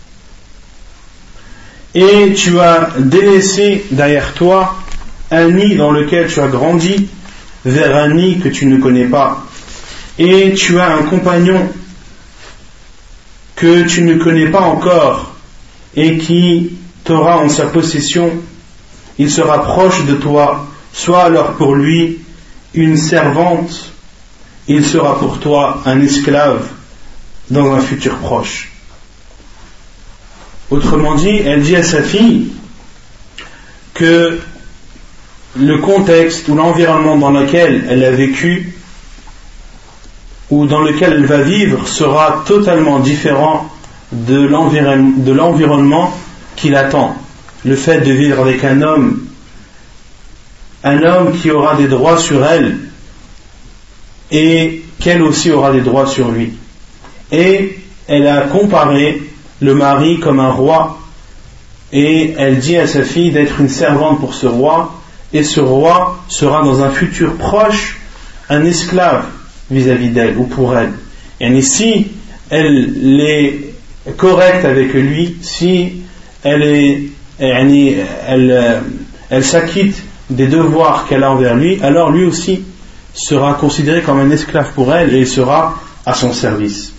et tu as délaissé derrière toi un nid dans lequel tu as grandi vers un nid que tu ne connais pas, et tu as un compagnon que tu ne connais pas encore et qui t'aura en sa possession. Il sera proche de toi, sois alors pour lui une servante, il sera pour toi un esclave dans un futur proche. Autrement dit, elle dit à sa fille que le contexte ou l'environnement dans lequel elle a vécu ou dans lequel elle va vivre sera totalement différent de l'environ- de l'environnement qui l'attend. Le fait de vivre avec un homme, un homme qui aura des droits sur elle et qu'elle aussi aura des droits sur lui. Et elle a comparé le mari comme un roi, et elle dit à sa fille d'être une servante pour ce roi, et ce roi sera dans un futur proche un esclave vis-à-vis d'elle ou pour elle. Et si elle est correcte avec lui, si elle est elle, elle, elle s'acquitte des devoirs qu'elle a envers lui, alors lui aussi sera considéré comme un esclave pour elle et il sera à son service.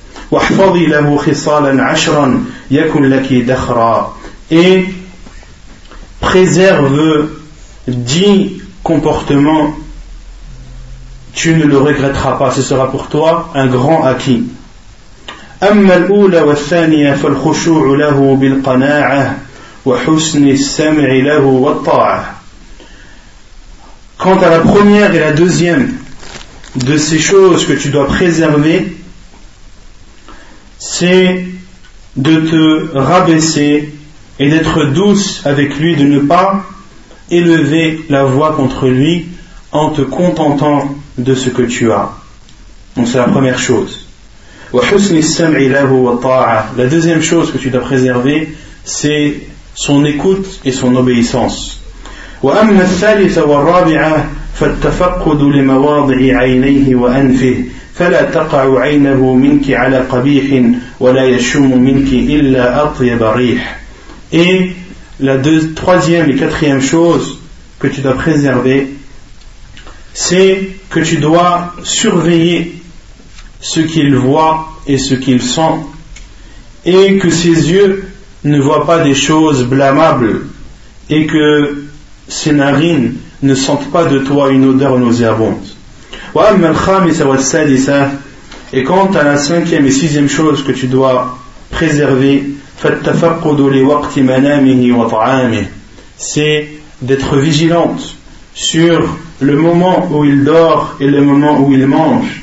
Et préserve dix comportements tu ne le regretteras pas, ce sera pour toi un grand acquis. أما الأولى والثانية فالخشوع له بالقناعة وحسن السمع له والطاعة. Quant à la première et la deuxième de ces choses que tu dois préserver, c'est de te rabaisser et d'être douce avec lui, de ne pas élever la voix contre lui en te contentant de ce que tu as. Donc c'est la première chose. La deuxième chose que tu dois préserver, c'est son écoute et son obéissance. وأما الثالثة والرابعة فالتفقد لمواضع عينيه وأنفه فلا تقع عينه منك على قبيح ولا يشم منك إلا أطيب ريح. Et la deux, troisième et quatrième chose que tu dois préserver, c'est que tu dois surveiller ce qu'il voit et ce qu'il sent, et que ses yeux ne voient pas des choses blâmables, et que ses narines ne sentent pas de toi une odeur nauséabonde. Et quant à la cinquième et sixième chose que tu dois préserver, c'est d'être vigilante sur le moment où il dort et le moment où il mange.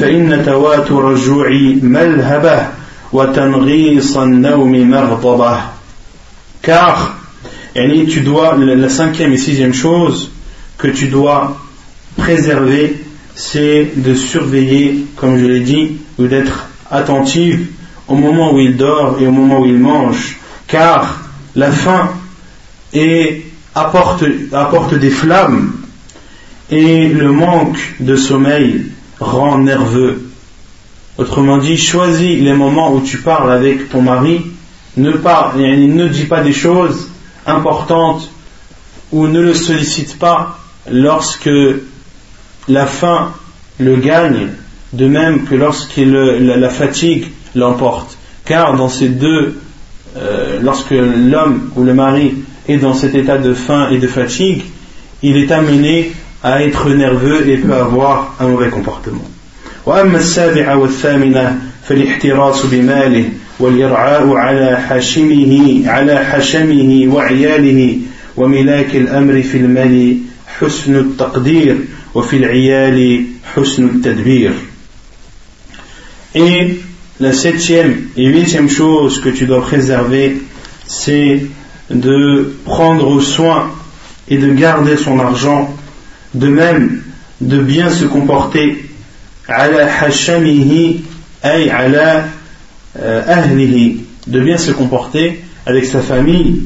Car Et tu dois, la cinquième et sixième chose que tu dois préserver, c'est de surveiller, comme je l'ai dit, ou d'être attentive au moment où il dort et au moment où il mange, car la faim est, apporte, apporte des flammes, et le manque de sommeil rend nerveux. Autrement dit, choisis les moments où tu parles avec ton mari, ne, pas, ne dis pas des choses importante ou ne le sollicite pas lorsque la faim le gagne, de même que lorsque le, la, la fatigue l'emporte, car dans ces deux euh, lorsque l'homme ou le mari est dans cet état de faim et de fatigue, il est amené à être nerveux et peut avoir un mauvais comportement. وأما السابعة والثامنة فالاحتراس بماله والإرعاء على حشمه على حشمه وعياله وملاك الأمر في المال حسن التقدير وفي العيال حسن التدبير. Et la septième et huitième chose que tu dois préserver, c'est de prendre soin et de garder son argent, de même de bien se comporter ala hashamihi ay ala ahlihi, de bien se comporter avec sa famille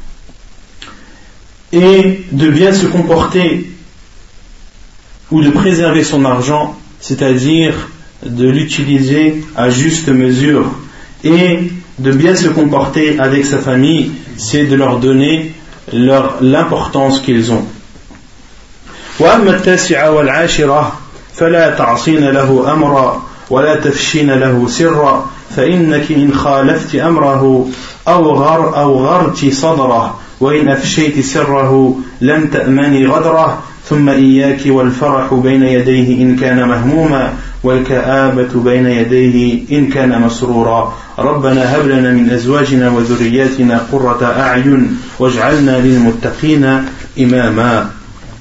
et de bien se comporter ou de préserver son argent, c'est-à-dire de l'utiliser à juste mesure, et de bien se comporter avec sa famille, c'est de leur donner leur, l'importance qu'ils ont. وأما التاسعة والعاشرة فلا تعصين له أمرا ولا تفشين له سرا فإنك إن خالفت أمره أو غر أو غرت صدره وإن أفشيت سره لم تأمني غدره ثم إياك والفرح بين يديه إن كان مهموما والكآبة بين يديه إن كان مسرورا ربنا هب لنا من أزواجنا وذرياتنا قرة أعين واجعلنا للمتقين إماما.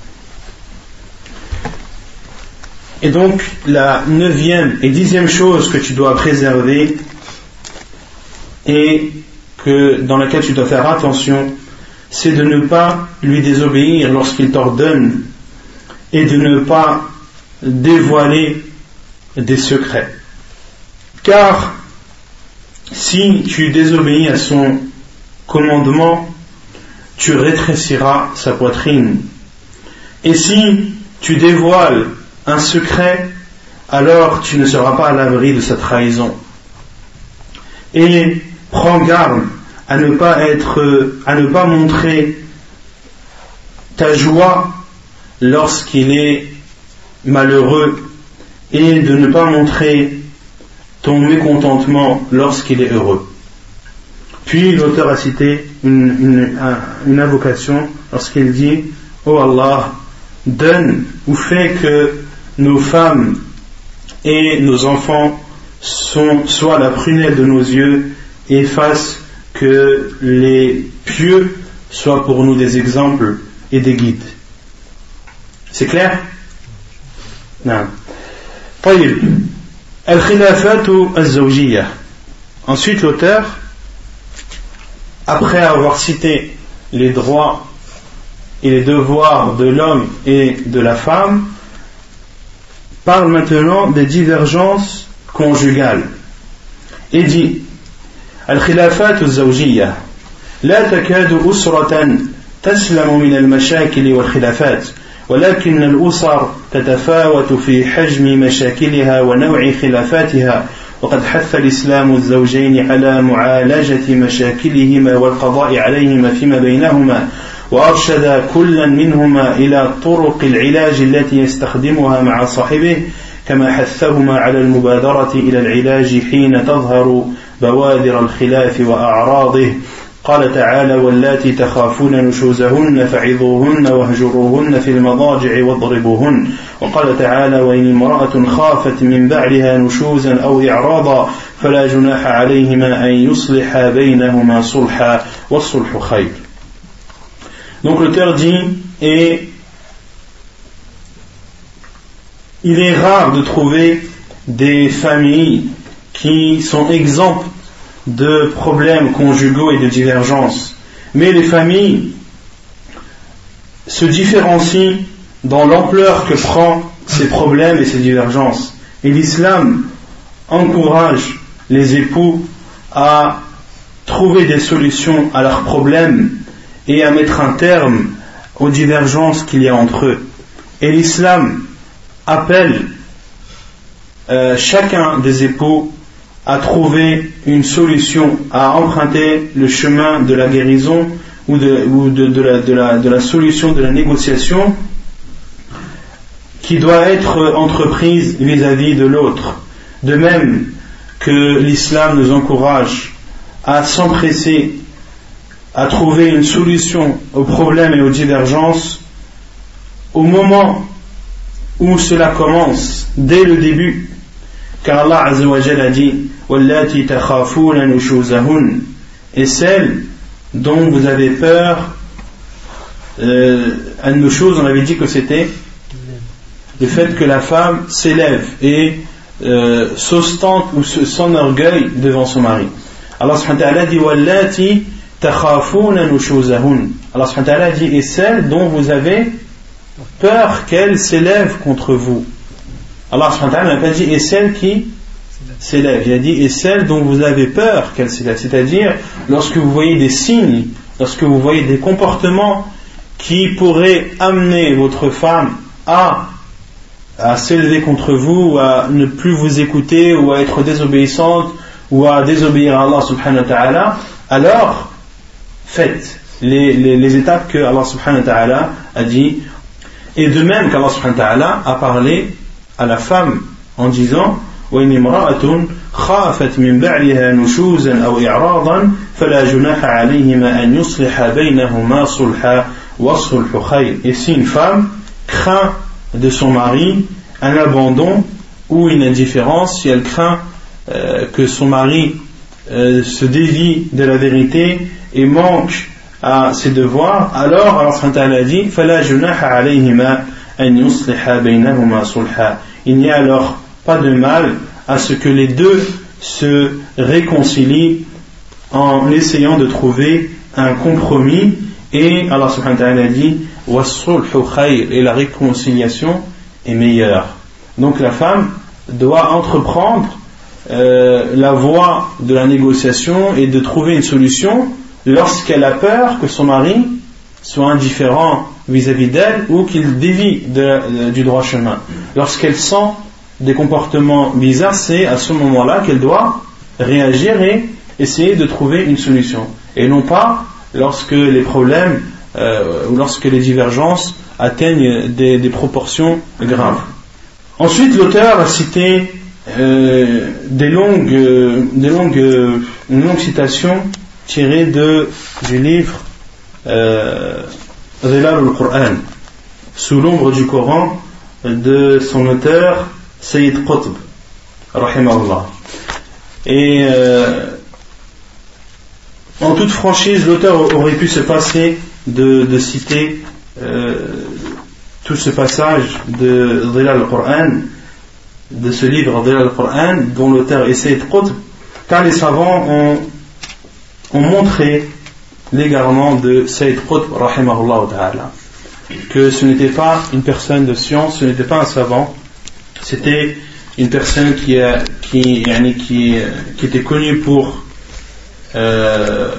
Et donc, la neuvième et dixième chose que tu dois préserver et que, dans laquelle tu dois faire attention, c'est de ne pas lui désobéir lorsqu'il t'ordonne et de ne pas dévoiler des secrets. Car si tu désobéis à son commandement, tu rétréciras sa poitrine. Et si tu dévoiles un secret, alors tu ne seras pas à l'abri de sa trahison. Et prends garde à ne pas être, à ne pas montrer ta joie lorsqu'il est malheureux et de ne pas montrer ton mécontentement lorsqu'il est heureux. Puis l'auteur a cité une, une, une invocation lorsqu'il dit: Oh Allah, donne ou fais que nos femmes et nos enfants sont, soient la prunelle de nos yeux et fassent que les pieux soient pour nous des exemples et des guides. C'est clair? Non. طيب. الخلافات الزوجية. Ensuite, l'auteur, après avoir cité les droits et les devoirs de l'homme et de la femme, parle maintenant des divergences conjugales et dit الخلافات الزوجية لا تكاد أسرة تسلم من المشاكل والخلافات ولكن الأسر تتفاوت في حجم مشاكلها ونوع خلافاتها وقد حث الإسلام الزوجين على معالجة مشاكلهما والقضاء عليهما فيما بينهما وأرشد كلا منهما إلى طرق العلاج التي يستخدمها مع صاحبه كما حثهما على المبادرة إلى العلاج حين تظهر بوادر الخلاف وأعراضه قال تعالى واللاتي تخافون نشوزهن فعظوهن واهجروهن في المضاجع واضربوهن وقال تعالى وإن امرأة خافت من بعلها نشوزا أو إعراضا فلا جناح عليهما أن يصلحا بينهما صلحا والصلح خير. Donc l'auteur dit et il est rare de trouver des familles qui sont exemptes de problèmes conjugaux et de divergences. Mais les familles se différencient dans l'ampleur que prend ces problèmes et ces divergences. Et l'islam encourage les époux à trouver des solutions à leurs problèmes et à mettre un terme aux divergences qu'il y a entre eux. Et l'islam appelle euh, chacun des époux à trouver une solution, à emprunter le chemin de la guérison ou de, ou de, de, la, de, la, de la solution de la négociation qui doit être entreprise vis-à-vis de l'autre. De même que l'islam nous encourage à s'empresser à trouver une solution aux problèmes et aux divergences au moment où cela commence, dès le début, car Allah Azza wa Jalla a dit وَاللَّاتِي تَخَافُونَ نُشُوزَهُنَّ et celles dont vous avez peur. euh, An-nushuz, on avait dit que c'était le fait que la femme s'élève et euh, s'ostente ou s'enorgueille devant son mari. Allah subhanahu wa ta'ala dit وَاللَّاتِي تَخَافُونَ نُشُوزَهُنَّ. Allah subhanahu wa ta'ala dit et celles dont vous avez peur qu'elles s'élèvent contre vous. Allah subhanahu wa ta'ala n'a pas dit et celles qui s'élèvent, il a dit et celles dont vous avez peur qu'elles s'élèvent, c'est-à-dire lorsque vous voyez des signes, lorsque vous voyez des comportements qui pourraient amener votre femme à, à s'élever contre vous, ou à ne plus vous écouter, ou à être désobéissante, ou à désobéir à Allah subhanahu wa ta'ala, alors faites les, les, les étapes que Allah subhanahu wa ta'ala a dit. Et de même qu'Allah subhanahu wa ta'ala a parlé à la femme en disant وَإِنِ امْرَأَةٌ خَافَتْ مِنْ بَعْلِهَا نُشُوزًا أَوْ إِعْرَاضًا فَلَا جُنَاحَ عَلَيْهِمَا أَنْ يُصْلِحَا بَيْنَهُمَا صُلْحًا وَالصُّلْحُ خَيْرٌ. Et si une femme craint de son mari un abandon ou une indifférence, si elle craint euh, que son mari euh, se dévie de la vérité et manque à ses devoirs, alors Allah subhanahu wa ta'ala dit فَلَا جُنَاحَ عَلَيْهِمَا أَنْ يُصْلِحَا بَيْنَهُمَا صُلْحًا. Il n'y a alors pas de mal à ce que les deux se réconcilient en essayant de trouver un compromis. Et Allah subhanahu wa ta'ala dit وَالصُّلْحُ خَيْرٌ, et la réconciliation est meilleure. Donc la femme doit entreprendre euh, la voie de la négociation et de trouver une solution lorsqu'elle a peur que son mari soit indifférent vis-à-vis d'elle ou qu'il dévie de, de, du droit chemin. Lorsqu'elle sent des comportements bizarres, c'est à ce moment-là qu'elle doit réagir et essayer de trouver une solution. Et non pas lorsque les problèmes euh, ou lorsque les divergences atteignent des, des proportions graves. Ensuite, l'auteur a cité euh, des longues, euh, des longues, euh, une longue citation tirée de, du livre euh, Zilal al-Qur'an, sous l'ombre du Coran, de son auteur, Sayyid Qutb, rahimahullah. Et euh, en toute franchise, l'auteur aurait pu se passer de, de citer euh, tout ce passage de Dhilal al-Qur'an, de ce livre Dhilal al-Qur'an, dont l'auteur est Sayyid Qutb, car les savants ont, ont montré l'égarement de Sayyid Qutb, rahimahullah ta'ala, que ce n'était pas une personne de science, ce n'était pas un savant, c'était une personne qui, a, qui, qui, qui était connue pour, euh,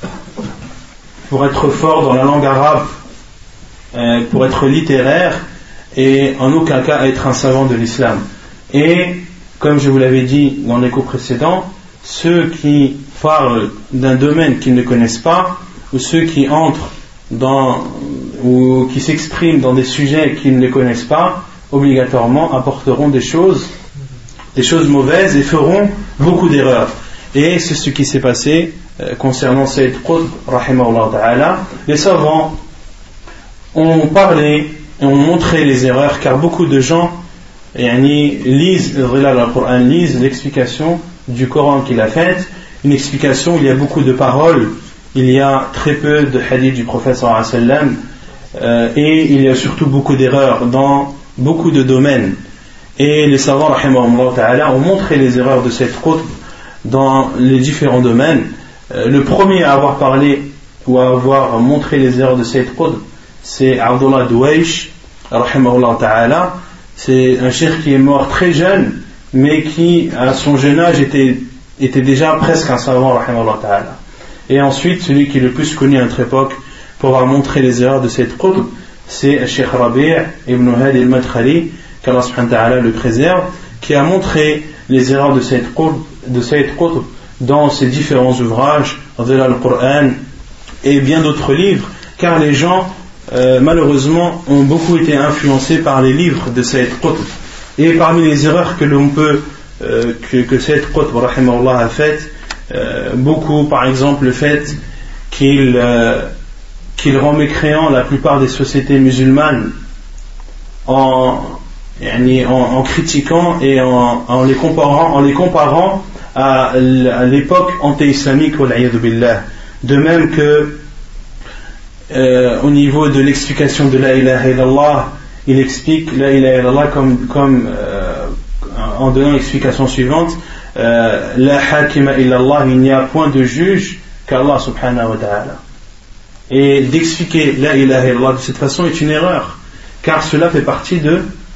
pour être fort dans la langue arabe, euh, pour être littéraire, et en aucun cas être un savant de l'islam. Et comme je vous l'avais dit dans les cours précédents, ceux qui parlent d'un domaine qu'ils ne connaissent pas, ou ceux qui entrent dans, ou qui s'expriment dans des sujets qu'ils ne connaissent pas, obligatoirement apporteront des choses, des choses mauvaises et feront beaucoup d'erreurs. Et c'est ce qui s'est passé euh, concernant Sayyid Qutb, rahimahullah ta'ala. Les savants ont parlé et ont montré les erreurs, car beaucoup de gens yani, lisent le lisent l'explication du Coran qu'il a faite, une explication où il y a beaucoup de paroles, il y a très peu de hadiths du prophète sallallahu alayhi wa sallam, euh, et il y a surtout beaucoup d'erreurs dans beaucoup de domaines. Et les savants rahimahumullah ta'ala ont montré les erreurs de cette Qutb dans les différents domaines. Euh, le premier à avoir parlé ou à avoir montré les erreurs de cette Qutb, c'est Abdullah Douaish rahimahullah ta'ala. C'est un cheikh qui est mort très jeune, mais qui à son jeune âge était, était déjà presque un savant rahimahullah ta'ala. Et ensuite, celui qui est le plus connu à notre époque pour avoir montré les erreurs de cette Qutb, c'est Cheikh Rabi' ibn Hadi al-Madkhali, qu'Allah subhanahu wa ta'ala le préserve, qui a montré les erreurs de cette Qutb, de cette Qutb dans ses différents ouvrages, Dhilal al-Qur'an et bien d'autres livres, car les gens euh, malheureusement ont beaucoup été influencés par les livres de cette Qutb. Et parmi les erreurs que l'on peut euh, que, que cette Qutb rahimahullah a faites, euh, beaucoup, par exemple le fait qu'il euh, qu'il rend mécréant la plupart des sociétés musulmanes en, en, en critiquant et en, en, les comparant, en les comparant à, à l'époque anté-islamique, de même que euh, au niveau de l'explication de la ilaha illallah, il explique la ilaha illallah comme, comme euh, en donnant l'explication suivante, euh, la hakima illallah, il n'y a point de juge qu'Allah subhanahu wa ta'ala. Et d'expliquer la ilaha illallah de cette façon est une erreur, car cela fait partie de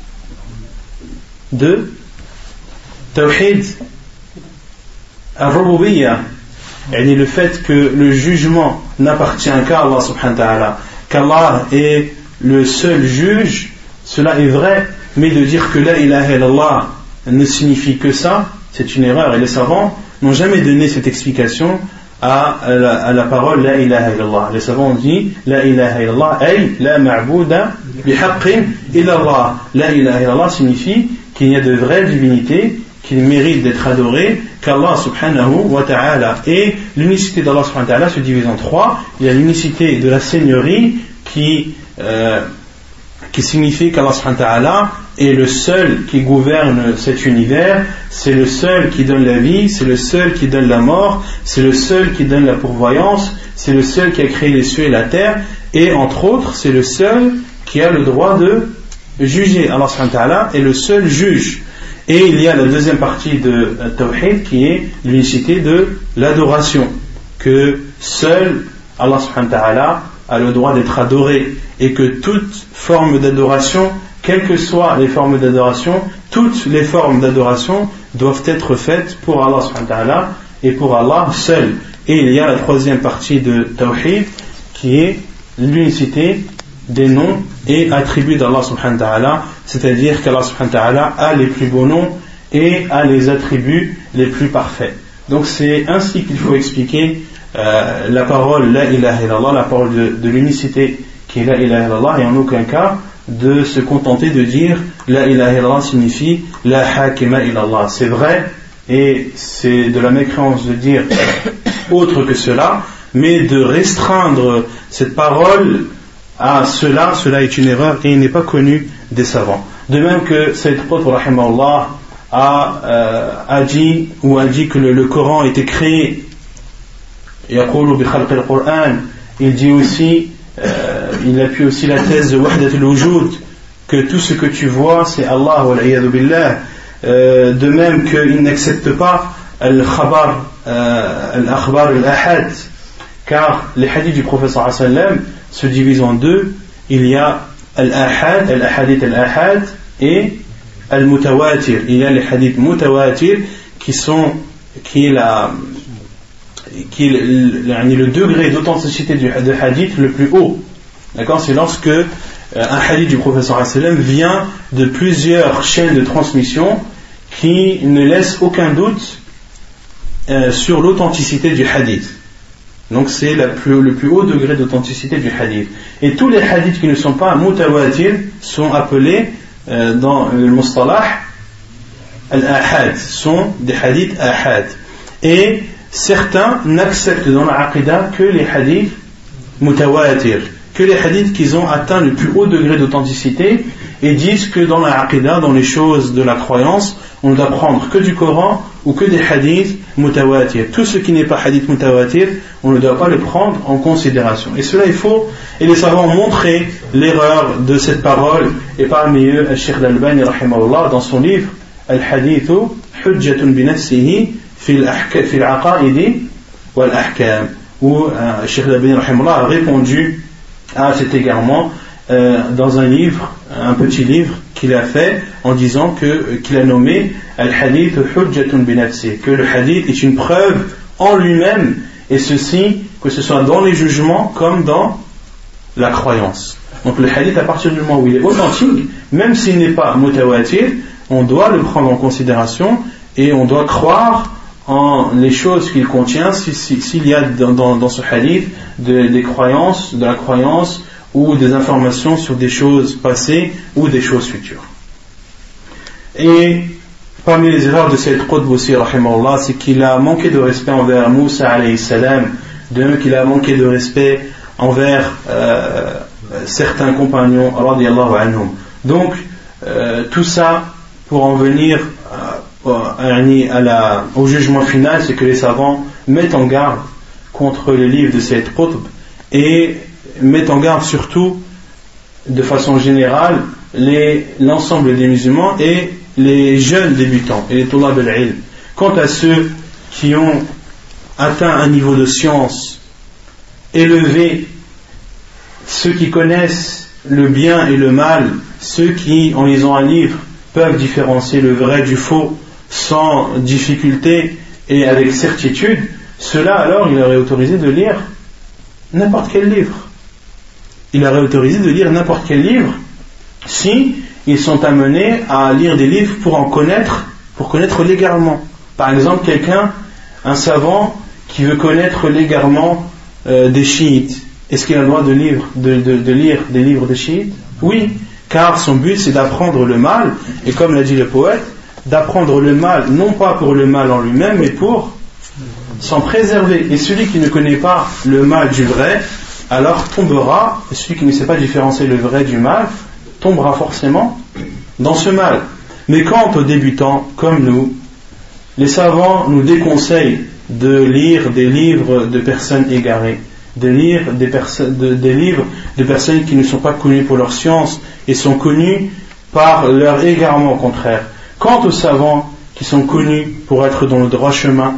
de tawhid al-rububiyyah, et le fait que le jugement n'appartient qu'à Allah subhanahu wa ta'ala, qu'Allah est le seul juge, cela est vrai, mais de dire que la ilaha illallah ne signifie que ça, c'est une erreur, et les savants n'ont jamais donné cette explication à la, à la parole la ilaha illallah. Les savants ont dit la ilaha illallah ay la ma'bouda bihaqqin illallah. La ilaha illallah signifie qu'il n'y a de vraie divinité qu'il mérite d'être adoré qu'Allah subhanahu wa ta'ala. Et l'unicité d'Allah subhanahu wa ta'ala se divise en trois. Il y a l'unicité de la seigneurie qui euh, qui signifie qu'Allah subhanahu wa ta'ala est le seul qui gouverne cet univers, c'est le seul qui donne la vie, c'est le seul qui donne la mort, c'est le seul qui donne la pourvoyance, c'est le seul qui a créé les cieux et la terre, et entre autres, c'est le seul qui a le droit de juger. Allah subhanahu wa ta'ala est le seul juge. Et il y a la deuxième partie de Tawhid qui est l'unicité de l'adoration, que seul Allah subhanahu wa ta'ala a le droit d'être adoré, et que toute forme d'adoration, quelles que soient les formes d'adoration, toutes les formes d'adoration doivent être faites pour Allah subhanahu wa ta'ala et pour Allah seul. Et il y a la troisième partie de Tawhid qui est l'unicité des noms et attributs d'Allah subhanahu wa ta'ala, c'est-à-dire qu'Allah subhanahu wa ta'ala a les plus beaux noms et a les attributs les plus parfaits. Donc c'est ainsi qu'il faut expliquer euh, la parole la ilaha illallah, la parole de, de l'unicité qui est la ilaha illallah, et en aucun cas de se contenter de dire la ilaha illallah signifie la hakima illallah. C'est vrai, et c'est de la mécréance de dire autre que cela, mais de restreindre cette parole à cela, cela est une erreur et il n'est pas connu des savants. De même que Sayyid Qutb rahimahullah a, euh, a dit ou a dit que le, le Coran était créé. Yaqulu bi khalq al-Qur'an. Il dit aussi, euh, il appuie aussi la thèse de Wahdat al-Wujud, que tout ce que tu vois c'est Allah wal iyadu billah. Euh, de même qu'il n'accepte pas al-khabar, euh, al-akhbar al-ahad, car les hadiths du prophète sallallahu alayhi wa sallam se divisent en deux. Il y a al-ahad, al-ahadith al-ahad et al-mutawatir. Il y a les hadiths mutawatir qui sont qui est la qui est le, le degré d'authenticité du de hadith le plus haut. D'accord, c'est lorsque euh, un hadith du prophète sallallahu alayhi wa sallam vient de plusieurs chaînes de transmission qui ne laissent aucun doute euh, sur l'authenticité du hadith. Donc c'est la plus, le plus haut degré d'authenticité du hadith. Et tous les hadiths qui ne sont pas mutawatir sont appelés euh, dans le mustalah al-ahad, sont des hadiths ahad. Et certains n'acceptent dans la aqidah que les hadiths mutawatir, que les hadiths qui ont atteint le plus haut degré d'authenticité, et disent que dans la aqidah, dans les choses de la croyance, on ne doit prendre que du Coran ou que des hadiths mutawatir. Tout ce qui n'est pas hadith mutawatir, on ne doit pas le prendre en considération. Et cela, il faut, et les savants ont montré l'erreur de cette parole, et parmi eux, Al-Sheikh Al-Albani rahimahullah, dans son livre Al-Hadithu Hujjatun bi nafsihi fi al-aqaidi wal-ahkam, où euh, Sheikh Al-Albani rahimahullah a répondu à cet égarement euh, dans un livre, un petit livre qu'il a fait en disant que, qu'il a nommé Al-Hadith Hujjatun bi nafsihi, que le hadith est une preuve en lui-même, et ceci, que ce soit dans les jugements comme dans la croyance. Donc le hadith, à partir du moment où il est authentique, même s'il n'est pas mutawatir, on doit le prendre en considération et on doit croire en les choses qu'il contient, s'il si, si, y a dans, dans, dans ce hadith de, des croyances, de la croyance ou des informations sur des choses passées ou des choses futures. Et parmi les erreurs de Sayyid Qutb aussi, rahimahullah, c'est qu'il a manqué de respect envers Moussa alayhi salam, de même qu'il a manqué de respect envers euh, certains compagnons radiyallahu anhum. Donc euh, tout ça pour en venir euh, à la, au jugement final, c'est que les savants mettent en garde contre les livres de Sayyid Qutb et mettent en garde surtout de façon générale les, l'ensemble des musulmans et les jeunes débutants et les tulab al-ilm. Quant à ceux qui ont atteint un niveau de science élevé, ceux qui connaissent le bien et le mal, ceux qui, en lisant un livre, peuvent différencier le vrai du faux sans difficulté et avec certitude, ceux-là alors il aurait autorisé de lire n'importe quel livre. Il aurait autorisé de lire n'importe quel livre si ils sont amenés à lire des livres pour en connaître, pour connaître l'égarement. Par exemple, quelqu'un, un savant qui veut connaître l'égarement euh, des chiites, est-ce qu'il a le droit de lire, de, de, de lire des livres des chiites? Oui, car son but c'est d'apprendre le mal, et comme l'a dit le poète, d'apprendre le mal, non pas pour le mal en lui-même, mais pour s'en préserver. Et celui qui ne connaît pas le mal du vrai, alors tombera, et celui qui ne sait pas différencier le vrai du mal, tombera forcément dans ce mal. Mais quant aux débutants comme nous, les savants nous déconseillent de lire des livres de personnes égarées, de lire des, perso- de, des livres de personnes qui ne sont pas connues pour leur science et sont connues par leur égarement au contraire. Quant aux savants qui sont connus pour être dans le droit chemin,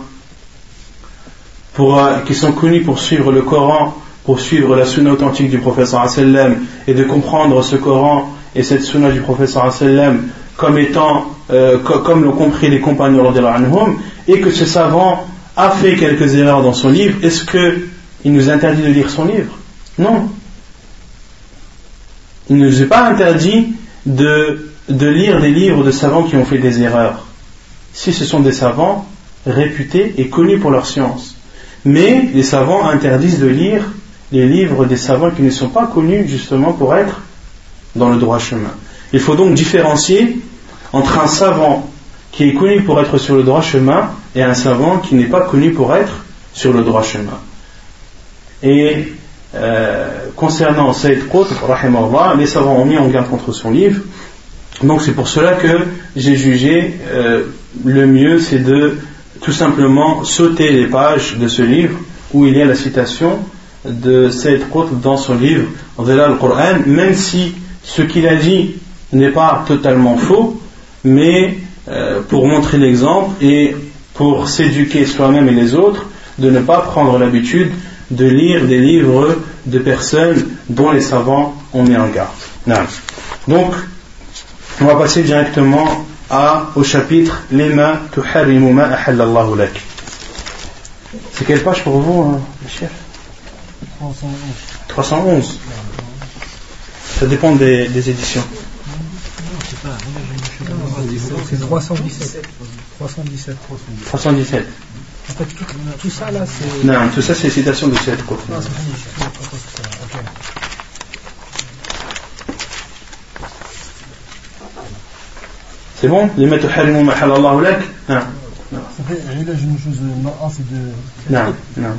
pour, euh, qui sont connus pour suivre le Coran, pour suivre la sunna authentique du prophète sallallahu alayhi wa sallam et de comprendre ce Coran et cette sunna du prophète sallallahu alayhi wa sallam comme étant, euh, co- comme l'ont compris les compagnons radiyallahu anhum, et que ce savant a fait quelques erreurs dans son livre, est-ce qu'il nous interdit de lire son livre? Non. Il ne nous est pas interdit de, de lire des livres de savants qui ont fait des erreurs, si ce sont des savants réputés et connus pour leur science. Mais les savants interdisent de lire les livres des savants qui ne sont pas connus justement pour être dans le droit chemin. Il faut donc différencier entre un savant qui est connu pour être sur le droit chemin et un savant qui n'est pas connu pour être sur le droit chemin. Et euh, concernant Sayyid Qutb, rahimahullah, les savants ont mis en garde contre son livre Donc c'est pour cela que j'ai jugé euh, le mieux c'est de tout simplement sauter les pages de ce livre où il y a la citation de Sayyid Qutb dans son livre Dhilal al-Qur'an, même si ce qu'il a dit n'est pas totalement faux, mais euh, pour montrer l'exemple et pour s'éduquer soi-même et les autres, de ne pas prendre l'habitude de lire des livres de personnes dont les savants ont mis en garde. Non. Donc, on va passer directement à, au chapitre Lima tuharrimu ma ahallallahu lak. C'est quelle page pour vous, hein, le chef? trois cent onze. Ça dépend des, des éditions. C'est trois cent dix-sept. trois cent dix-sept. trois cent dix-sept. En fait, tout, tout ça là, c'est. Non, tout ça c'est citation de Sayyid Qutb. Non, c'est okay. C'est bon? Lima tuharrimu ma ahallallahu lak? Non. Ça fait علاج النشوز المرأة c'est de. Non, non.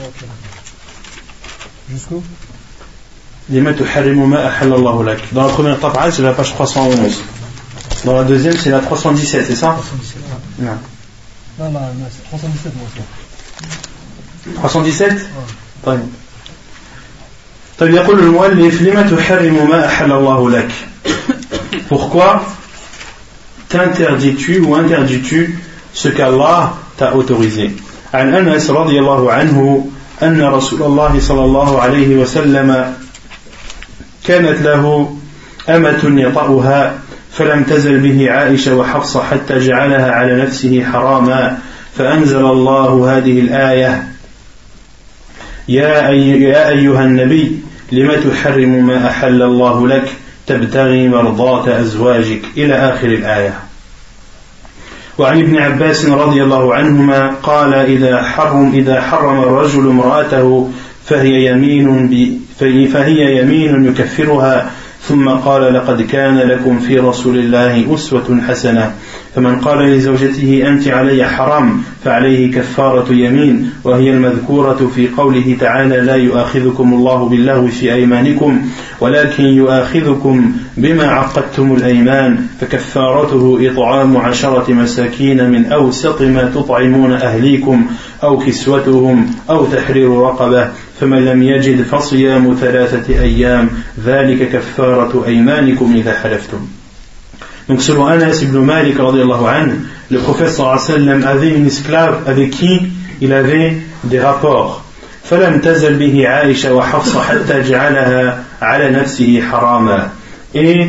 Jusqu'où? Lima tuharrimu ma ahallallahu lak. Dans la première taba'a, c'est la page trois cent onze. Dans la deuxième, c'est la trois cent dix-sept, c'est ça? trois cent dix-sept. Non. Non, non, c'est trois cent dix-sept, moi aussi. trois cent dix-sept? طيب. طيب يقول المؤلف لما تحرم ما أحل الله لك. Pourquoi t'interdis-tu ou interdis-tu ce qu'Allah t'a autorisé? عن أنس رضي الله عنه أن رسول الله صلى الله عليه وسلم كانت له أمة يطأها فلم تزل به عائشة وحفصة حتى جعلها على نفسه حراما فأنزل الله هذه الآية يا, أي يا أيها النبي لم تحرم ما أحل الله لك تبتغي مرضاة أزواجك إلى آخر الآية. وعن ابن عباس رضي الله عنهما قال إذا حرم إذا حرم الرجل امرأته فهي يمين فهي يمين يكفرها ثم قال لقد كان لكم في رسول الله أسوة حسنة فمن قال لزوجته أنت علي حرام فعليه كفارة يمين وهي المذكورة في قوله تعالى لا يؤاخذكم الله باللغو في أيمانكم ولكن يؤاخذكم بما عقدتم الأيمان فكفارته إطعام عشرة مساكين من أوسط ما تطعمون أهليكم أو كسوتهم أو تحرير رقبة فمن لم يجد فصيام ثلاثة أيام ذلك كفارة أيمانكم إذا حلفتم. Donc selon Anas ibn Malik radiyallahu anhu, le prophète sallallahu alayhi wa sallam avait une esclave avec qui il avait des rapports. فلم تزل به عائشة وحفصة حتى جعلها على نفسه حراما. Et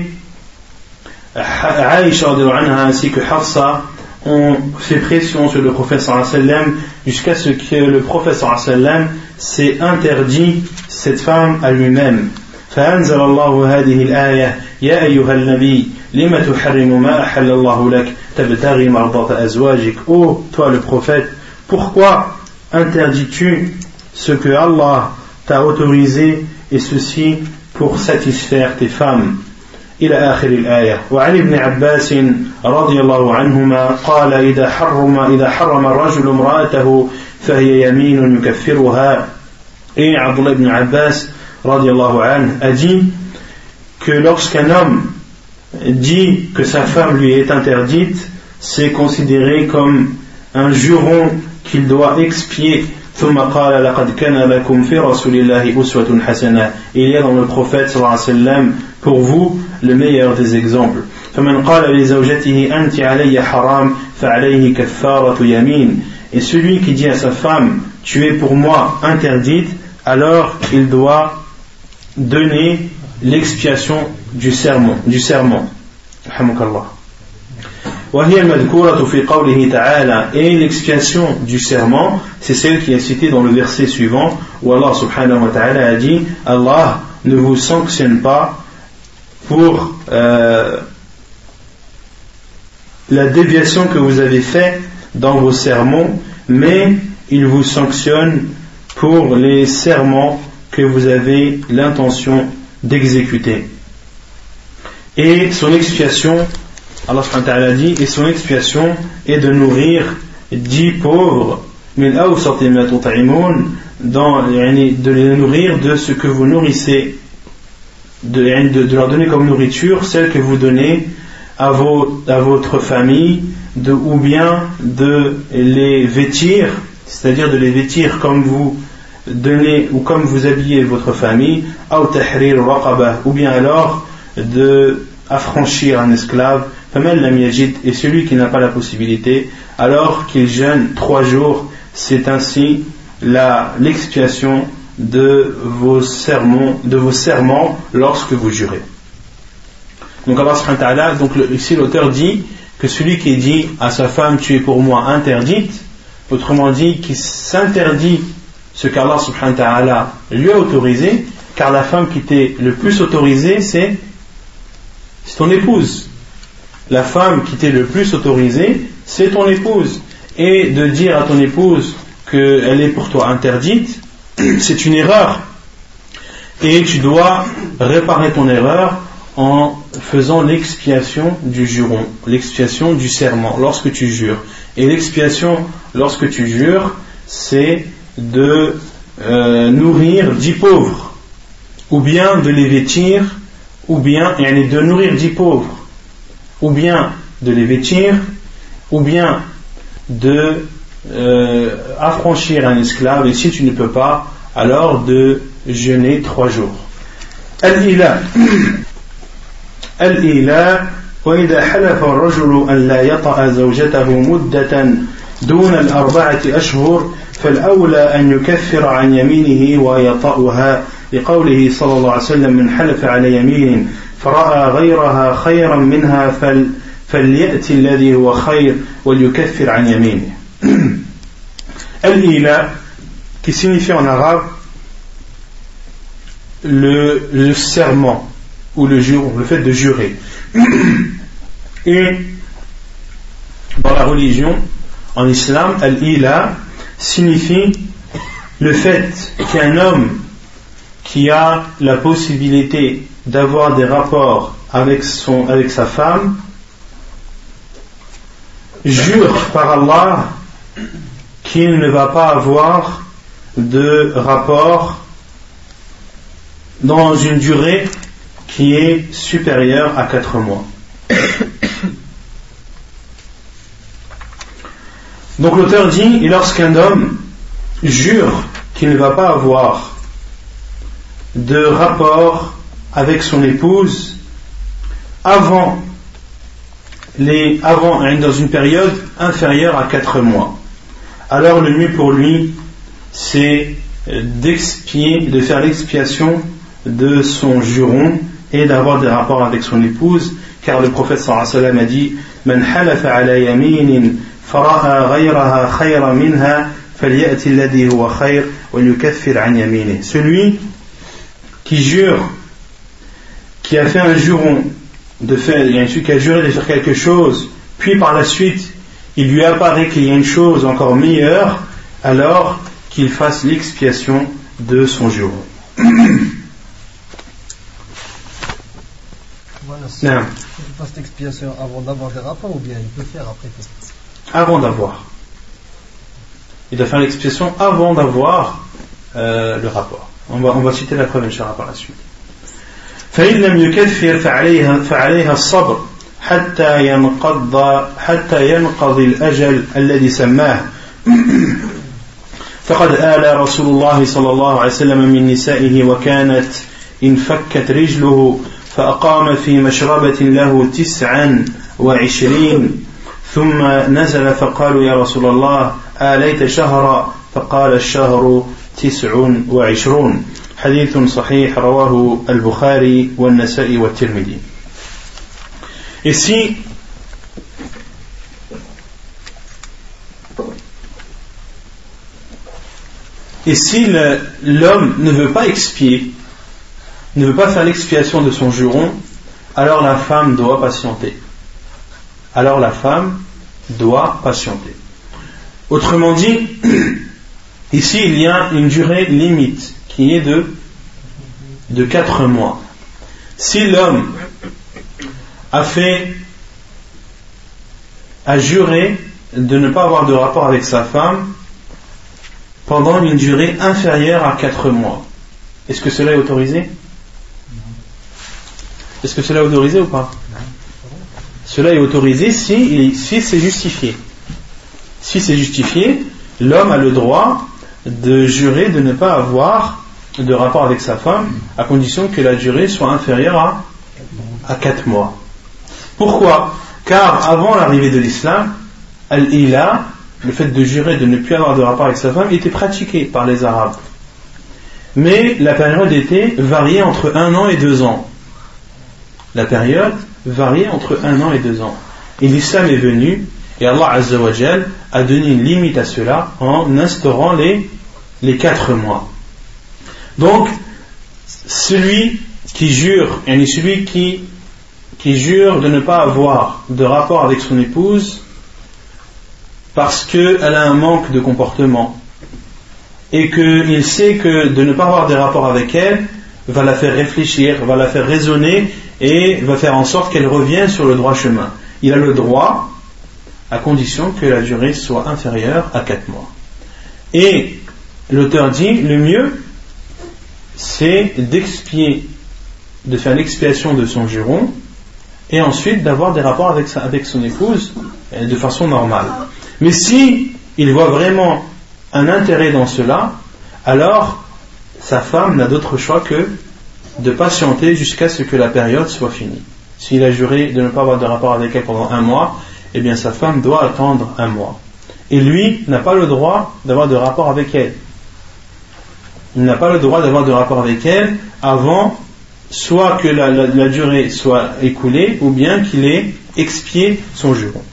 Aïcha radiyallahu anha ainsi que Hafsa ont fait pression sur le prophète sallallahu alayhi wa sallam jusqu'à ce que le prophète sallallahu alayhi wa sallam s'est interdit cette femme à lui-même. فأنزل الله هذه الآية يا أيها النبي لما تحرم ما أحل الله لك تبتغي مرضاة أزواجك. Ô toi le prophète, pourquoi interdis-tu ce que Allah t'a autorisé et ceci pour satisfaire tes femmes? إلى آخر الآية. وعن ابن عباس رضي الله عنهما قال إذا حرم إذا حرم الرجل امرأته فهي يمين يكفرها. Et Abdullah ibn Abbas radiallahu anhu a dit que lorsqu'un homme dit que sa femme lui est interdite, c'est considéré comme un juron qu'il doit expier. ثم قال لقد كان لكم في رسول الله أسوة حسنة. Il y a dans le prophète sallallahu alayhi wa sallam pour vous le meilleur des exemples. فمن قال لزوجته أنت علي حرام فعليه كفارة يمين. Et celui qui dit à sa femme tu es pour moi interdite, alors il doit donner l'expiation du serment, du serment. Alhamdulillah. وهي المذكورة في قوله تعالى. Et l'expiation du serment, c'est celle qui est citée dans le verset suivant où Allah subhanahu wa ta'ala a dit Allah ne vous sanctionne pas pour euh, la déviation que vous avez faite dans vos sermons, mais il vous sanctionne pour les serments que vous avez l'intention d'exécuter. Et son expiation, Allah subhanahu wa ta'ala dit, et son expiation est de nourrir dix pauvres, min awsati ma tut'imun, dans, de les nourrir de ce que vous nourrissez, de, de, de leur donner comme nourriture celle que vous donnez à, vos, à votre famille, de, ou bien de les vêtir, c'est-à-dire de les vêtir comme vous donnez ou comme vous habillez votre famille, ou bien alors de affranchir un esclave, et celui qui n'a pas la possibilité, alors qu'il jeûne trois jours. C'est ainsi la, l'expiation de vos sermons, de vos serments lorsque vous jurez. Donc Allah subhanahu wa ta'ala, donc le, ici l'auteur dit que celui qui dit à sa femme tu es pour moi interdite, autrement dit qui s'interdit ce qu'Allah subhanahu wa ta'ala lui a autorisé, car la femme qui t'est le plus autorisée c'est, c'est ton épouse. La femme qui t'est le plus autorisée c'est ton épouse, et de dire à ton épouse qu'elle est pour toi interdite, c'est une erreur, et tu dois réparer ton erreur en faisant l'expiation du juron, l'expiation du serment lorsque tu jures. Et l'expiation lorsque tu jures, c'est de euh, nourrir dix pauvres, ou bien de les vêtir, ou bien de nourrir dix pauvres, ou bien de les vêtir, ou bien de euh, affranchir un esclave, et si tu ne peux pas, alors de jeûner trois jours. Al-Ila Al-Ila وإذا حلف الرجل أن لا يطأ زوجته مدة دون الأربعة أشهر فالأولى أن يكفر عن يمينه ويطأها لقوله صلى الله عليه وسلم من حلف على يمين فرأى غيرها خيرا منها فل فليأتي الذي هو خير وليكفر عن يمينه. Al-Ila, qui signifie en arabe le, le serment ou le jure, le fait de jurer. Et dans la religion, en islam, Al-Ila signifie le fait qu'un homme qui a la possibilité d'avoir des rapports avec, son, avec sa femme jure par Allah qu'il ne va pas avoir de rapport dans une durée qui est supérieure à quatre mois. Donc l'auteur dit, et lorsqu'un homme jure qu'il ne va pas avoir de rapport avec son épouse avant, les, avant dans une période inférieure à quatre mois, alors le mieux pour lui c'est d'expier, de faire l'expiation de son juron et d'avoir des rapports avec son épouse, car le prophète sallallahu alayhi wa sallam a dit Man halafa ala yaminin fara'a ghayraha khayra minha falyati alladhi huwa khayr wa yukaffir an yaminih. Celui qui jure, qui a fait un juron de faire, il y a celui qui a juré de faire quelque chose, puis par la suite il lui apparaît qu'il y a une chose encore meilleure, alors qu'il fasse l'expiation de son juron. Voilà, si non. Il fasse l'expiation avant d'avoir des rapports ou bien il peut faire après? Avant d'avoir. Il doit faire l'expiation avant d'avoir euh, le rapport. On va, on va citer la preuve Inch'Allah par la suite. فإن لم يكفر فعليها فعليها الصبر حتى ينقض حتى ينقضي الأجل الذي سماه. فقد آل رسول الله صلى الله عليه وسلم من نسائه وكانت انفكت رجله فأقام في مشربة له تسعا وعشرين ثم نزل فقالوا يا رسول الله آليت شهرا فقال الشهر تسع وعشرون. حديث صحيح رواه البخاري والنسائي والترمذي. Ici, et si le, l'homme ne veut pas expier, ne veut pas faire l'expiation de son juron, alors la femme doit patienter. Alors la femme doit patienter. Autrement dit, ici il y a une durée limite qui est de, de quatre mois. Si l'homme a fait, a juré de ne pas avoir de rapport avec sa femme pendant une durée inférieure à quatre mois, est-ce que cela est autorisé? Est-ce que cela est autorisé ou pas? cela est autorisé si, si c'est justifié. Si c'est justifié, l'homme a le droit de jurer de ne pas avoir de rapport avec sa femme, à condition que la durée soit inférieure à, à quatre mois. Pourquoi ? Car avant l'arrivée de l'islam, al-ila, le fait de jurer de ne plus avoir de rapport avec sa femme, était pratiqué par les Arabes. Mais la période était variée entre un an et deux ans. La période variait entre un an et deux ans. Et l'islam est venu, et Allah Azza wa Jal a donné une limite à cela en instaurant les, les quatre mois. Donc, celui qui jure, et celui qui, qui jure de ne pas avoir de rapport avec son épouse parce qu'elle a un manque de comportement et qu'il sait que de ne pas avoir de rapport avec elle va la faire réfléchir, va la faire raisonner et va faire en sorte qu'elle revienne sur le droit chemin. Il a le droit, à condition que la durée soit inférieure à quatre mois. Et l'auteur dit, le mieux, c'est d'expier, de faire l'expiation de son juron, et ensuite d'avoir des rapports avec, sa, avec son épouse de façon normale. Mais si il voit vraiment un intérêt dans cela, alors sa femme n'a d'autre choix que de patienter jusqu'à ce que la période soit finie. S'il a juré de ne pas avoir de rapport avec elle pendant un mois, eh bien sa femme doit attendre un mois. Et lui n'a pas le droit d'avoir de rapport avec elle. Il n'a pas le droit d'avoir de rapport avec elle avant soit que la, la, la durée soit écoulée ou bien qu'il ait expié son juron.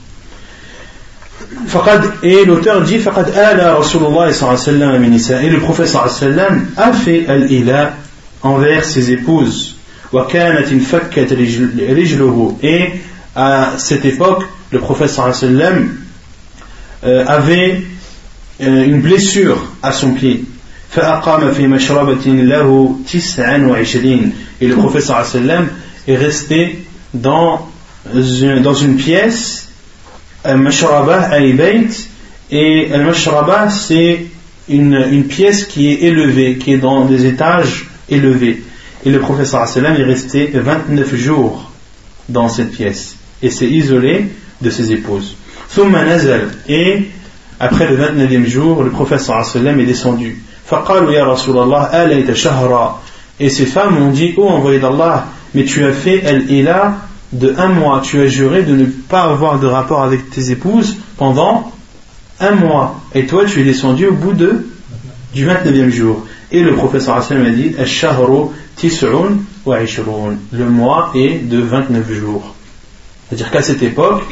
Et l'auteur dit فَقَدْ آلَ رَسُولُ اللَّهِ صَلَّى عَلَيْهِ وَسَلَّمَ مِنْ نِسَائِهِ. Et le prophète sallallahu alayhi wa sallam a fait al-ila envers ses épouses. وَكَانَتْ انْفَكَّتْ رِجْلُهُ. Et à cette époque, le prophète sallallahu alayhi wa sallam euh, avait euh, une blessure à son pied. فَأَقَامَ فِي مَشْرَبَةٍ لَهُ تِسْعًا وَعِشْرِينَ. Et le prophète sallallahu alayhi wa sallam est resté dans une, dans une pièce, al-mashraba al-bayt, et al-mashraba c'est une, une pièce qui est élevée, qui est dans des étages élevés. Et le prophète sallallahu alayhi wa sallam est resté vingt-neuf jours dans cette pièce et s'est isolé de ses épouses. Thumma nazal. Et après le vingt-neuvième jour, le prophète sallallahu alayhi wa sallam est descendu. Faqalu ya Rasulallah alayta shahra. Et ces femmes ont dit, ô envoyé d'Allah, mais tu as fait al-ila de un mois, tu as juré de ne pas avoir de rapport avec tes épouses pendant un mois, et toi tu es descendu au bout de, du vingt-neuvième jour. Et le prophète sallallahu alayhi wa sallam a dit ash-shahru tis'un wa ishrun. Le mois est de vingt-neuf jours. C'est-à-dire qu'à cette époque,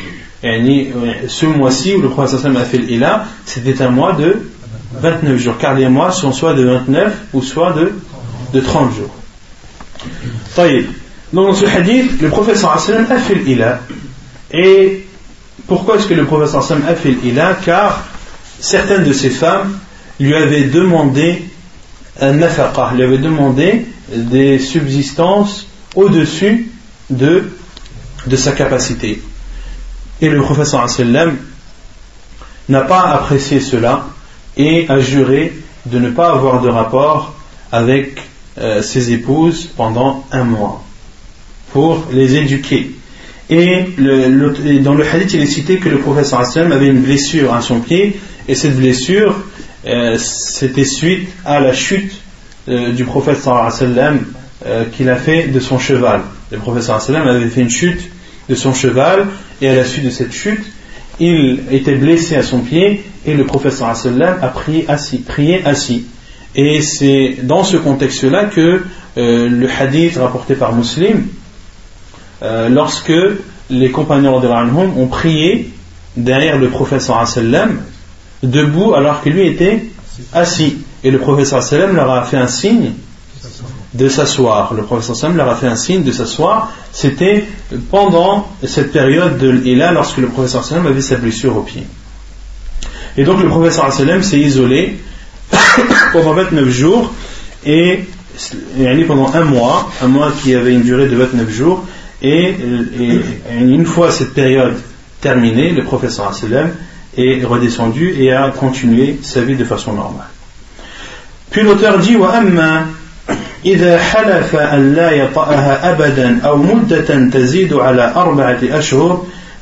ce mois-ci où le prophète sallallahu alayhi wa sallam a fait l'ila, c'était un mois de vingt-neuf jours, car les mois sont soit de vingt-neuf ou soit de, de trente jours. Taïb. Donc dans ce hadith, le prophète sallallahu alayhi wa sallam a fait l'ila. Et pourquoi est-ce que le prophète sallallahu alayhi wa sallam a fait l'ila? Car certaines de ces femmes lui avaient demandé un nafaqa, lui avaient demandé des subsistances au-dessus de, de sa capacité. Et le prophète sallallahu alayhi wa sallam n'a pas apprécié cela et a juré de ne pas avoir de rapport avec euh, ses épouses pendant un mois pour les éduquer. Et, le, le, et dans le hadith il est cité que le prophète sallallahu alayhi wa sallam avait une blessure à son pied, et cette blessure euh, c'était suite à la chute euh, du prophète sallallahu alayhi wa sallam euh, qu'il a fait de son cheval. Le prophète sallallahu alayhi wa sallam avait fait une chute de son cheval, et à la suite de cette chute il était blessé à son pied, et le prophète sallallahu alayhi wa sallam a prié assis, prié assis. Et c'est dans ce contexte là que euh, le hadith rapporté par Muslim, Euh, lorsque les compagnons ont prié derrière le prophète sallallahu alayhi wa sallam debout alors que lui était assis, et le prophète sallallahu alayhi wa sallam leur a fait un signe de s'asseoir. Le prophète sallallahu alayhi wa sallam leur a fait un signe de s'asseoir. C'était pendant cette période de l'ila, lorsque le prophète sallallahu alayhi wa sallam avait sa blessure au pied. Et donc le prophète sallallahu alayhi wa sallam s'est isolé pendant vingt-neuf jours, et, et pendant un mois, un mois qui avait une durée de vingt-neuf jours. Et, et, et une fois cette période terminée, le prophète sallallahu alayhi wa sallam est redescendu et a continué sa vie de façon normale. Puis l'auteur dit وَأَمَّا إِذَا حَلَفَ أَنْ لَا يَطَأَهَا أَبَدًا أَوْ مُدَّةً تَزِيدُ عَلَى أَرْبَعَةِ أَشْهُرٍ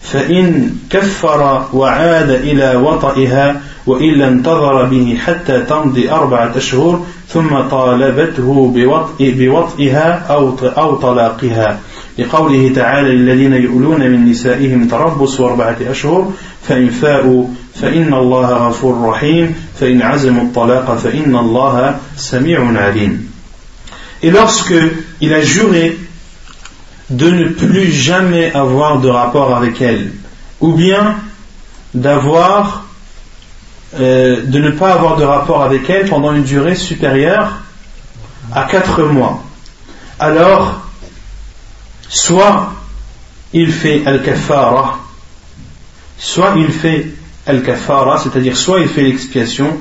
فإن كفر وعاد إلى وطئها وإلا انتظر به حتى تمضي أربعة أشهر ثم طالبته بوطئ بوطئها أو أو طلاقها لقوله تعالى الذين يؤلون من نسائهم تربص أربعة أشهر فإن فاءوا فإن الله غفور رحيم فإن عزموا الطلاق فإن الله سميع عليم. Et lorsque il a juré de ne plus jamais avoir de rapport avec elle, ou bien d'avoir euh, de ne pas avoir de rapport avec elle pendant une durée supérieure à quatre mois, alors soit il fait al-kafara, soit il fait al-kafara, c'est-à-dire soit il fait l'expiation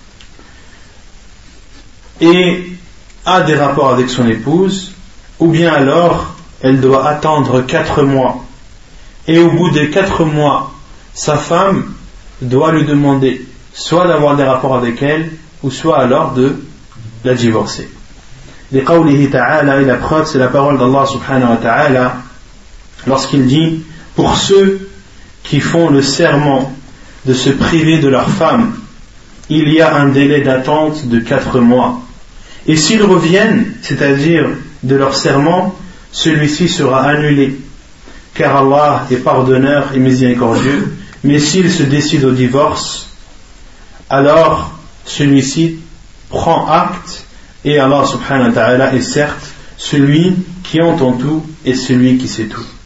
et a des rapports avec son épouse, ou bien alors elle doit attendre quatre mois, et au bout des quatre mois sa femme doit lui demander soit d'avoir des rapports avec elle, ou soit alors de la divorcer. لقوله تعالى, et la preuve c'est la parole d'Allah subhanahu wa ta'ala lorsqu'il dit pour ceux qui font le serment de se priver de leur femme, il y a un délai d'attente de quatre mois, et s'ils reviennent, c'est-à-dire de leur serment, celui-ci sera annulé, car Allah est pardonneur et miséricordieux. Mais s'il se décide au divorce, alors celui-ci prend acte, et Allah subhanahu wa ta'ala est certes celui qui entend tout et celui qui sait tout.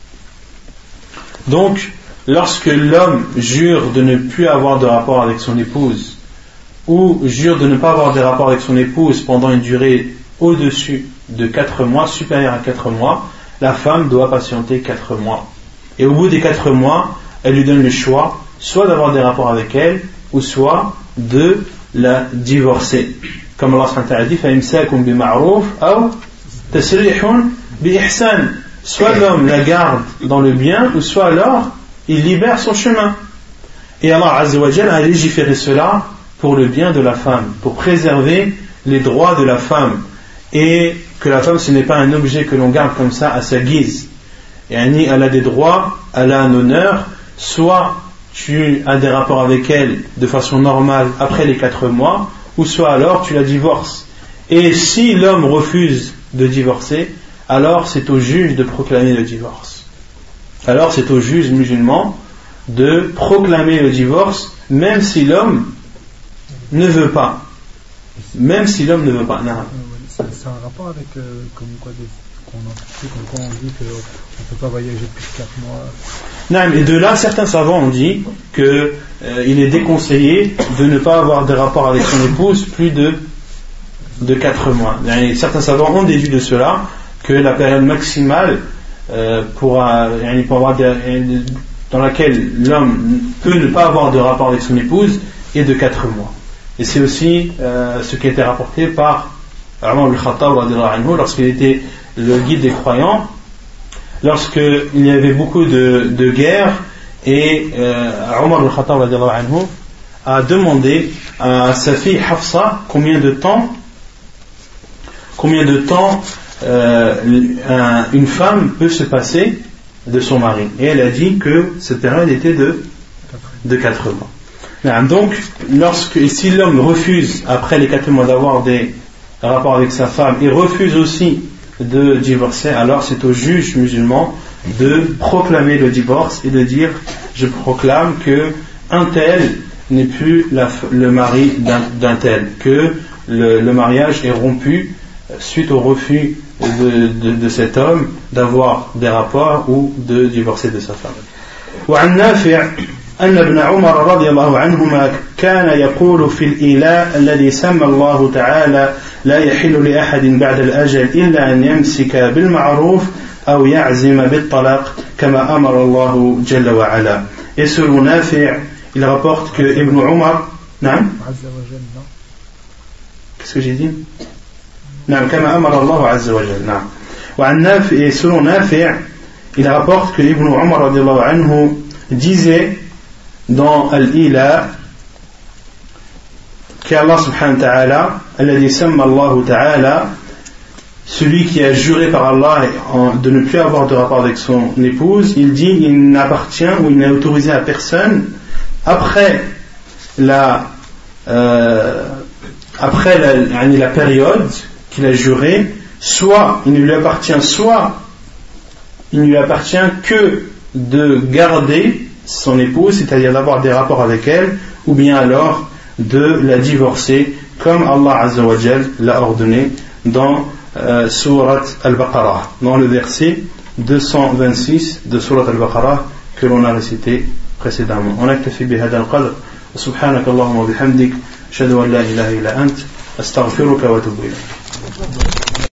Donc, lorsque l'homme jure de ne plus avoir de rapport avec son épouse, ou jure de ne pas avoir de rapport avec son épouse pendant une durée au-dessus de quatre mois, supérieure à quatre mois, la femme doit patienter quatre mois. Et au bout des quatre mois, elle lui donne le choix, soit d'avoir des rapports avec elle, ou soit de la divorcer. Comme Allah subhanahu wa ta'ala dit, فَإِمْسَاكُمْ بِمَعْرُوفٍ أَوْ تَسْرِيحٌ بِإِحْسَانٍ. Soit l'homme la garde dans le bien, ou soit alors il libère son chemin. Et Allah Azza wa Jalla a légiféré cela pour le bien de la femme, pour préserver les droits de la femme, et que la femme ce n'est pas un objet que l'on garde comme ça à sa guise. Et elle a des droits, elle a un honneur, soit tu as des rapports avec elle de façon normale après les quatre mois, ou soit alors tu la divorces. Et si l'homme refuse de divorcer, alors c'est au juge de proclamer le divorce. Alors c'est au juge musulman de proclamer le divorce, même si l'homme ne veut pas. Même si l'homme ne veut pas. Non. C'est un rapport avec euh, comme quoi des, qu'on a, comme quoi on dit qu'on ne peut pas voyager plus de quatre mois. Non, mais de là, certains savants ont dit qu'il euh, est déconseillé de ne pas avoir de rapport avec son épouse plus de, de quatre mois. Et certains savants ont déduit de cela que la période maximale euh, pour, euh, pour avoir des, dans laquelle l'homme peut ne pas avoir de rapport avec son épouse est de quatre mois. Et c'est aussi euh, ce qui a été rapporté par Omar ibn Khattab lorsqu'il était le guide des croyants, lorsqu'il y avait beaucoup de, de guerres, et euh, Omar ibn Khattab a demandé à sa fille Hafsa combien de temps combien de temps euh, un, une femme peut se passer de son mari, et elle a dit que cette période était de, de quatre mois. Donc, lorsque, si l'homme refuse après les quatre mois d'avoir des rapports avec sa femme et refuse aussi de divorcer, alors c'est au juge musulman de proclamer le divorce et de dire je proclame que un tel n'est plus la, le mari d'un, d'un tel, que le, le mariage est rompu suite au refus de, de, de cet homme d'avoir des rapports ou de divorcer de sa femme. وعن نافع أن ابن عمر رضي الله عنهما كان يقول في الإيلاء الذي سمى الله تعالى لا يحل لأحد بعد الأجل إلا أن يمسك بالمعروف أو يعزم بالطلاق كما أمر الله جل وعلا. Et selon Nafi', il rapporte que Ibn Umar, نعم qu'est-ce que j'ai dit نعم كما أمر الله عز وجل نعم. وعن نافع, et selon Nafi', il rapporte que Ibn Umar رضي الله عنه disait dans Al-Ila qu'Allah subhanahu wa ta'ala الذي سمى الله تعالى celui qui a juré par Allah de ne plus avoir de rapport avec son épouse, il dit il n'appartient ou il n'est autorisé à personne après la euh, après la, la période qu'il a juré, soit il ne lui appartient soit il ne lui appartient que de garder son épouse, c'est-à-dire d'avoir des rapports avec elle, ou bien alors de la divorcer comme Allah Azza wa Jal l'a ordonné dans euh, Surat Al-Baqarah, dans le verset deux cent vingt-six de Surat Al-Baqarah que l'on a récité précédemment. On a كتفي بهذا القدر سبحانك اللهم وبحمدك أشهد أن لا إله إلا أنت أستغفرك وأتوب إليك.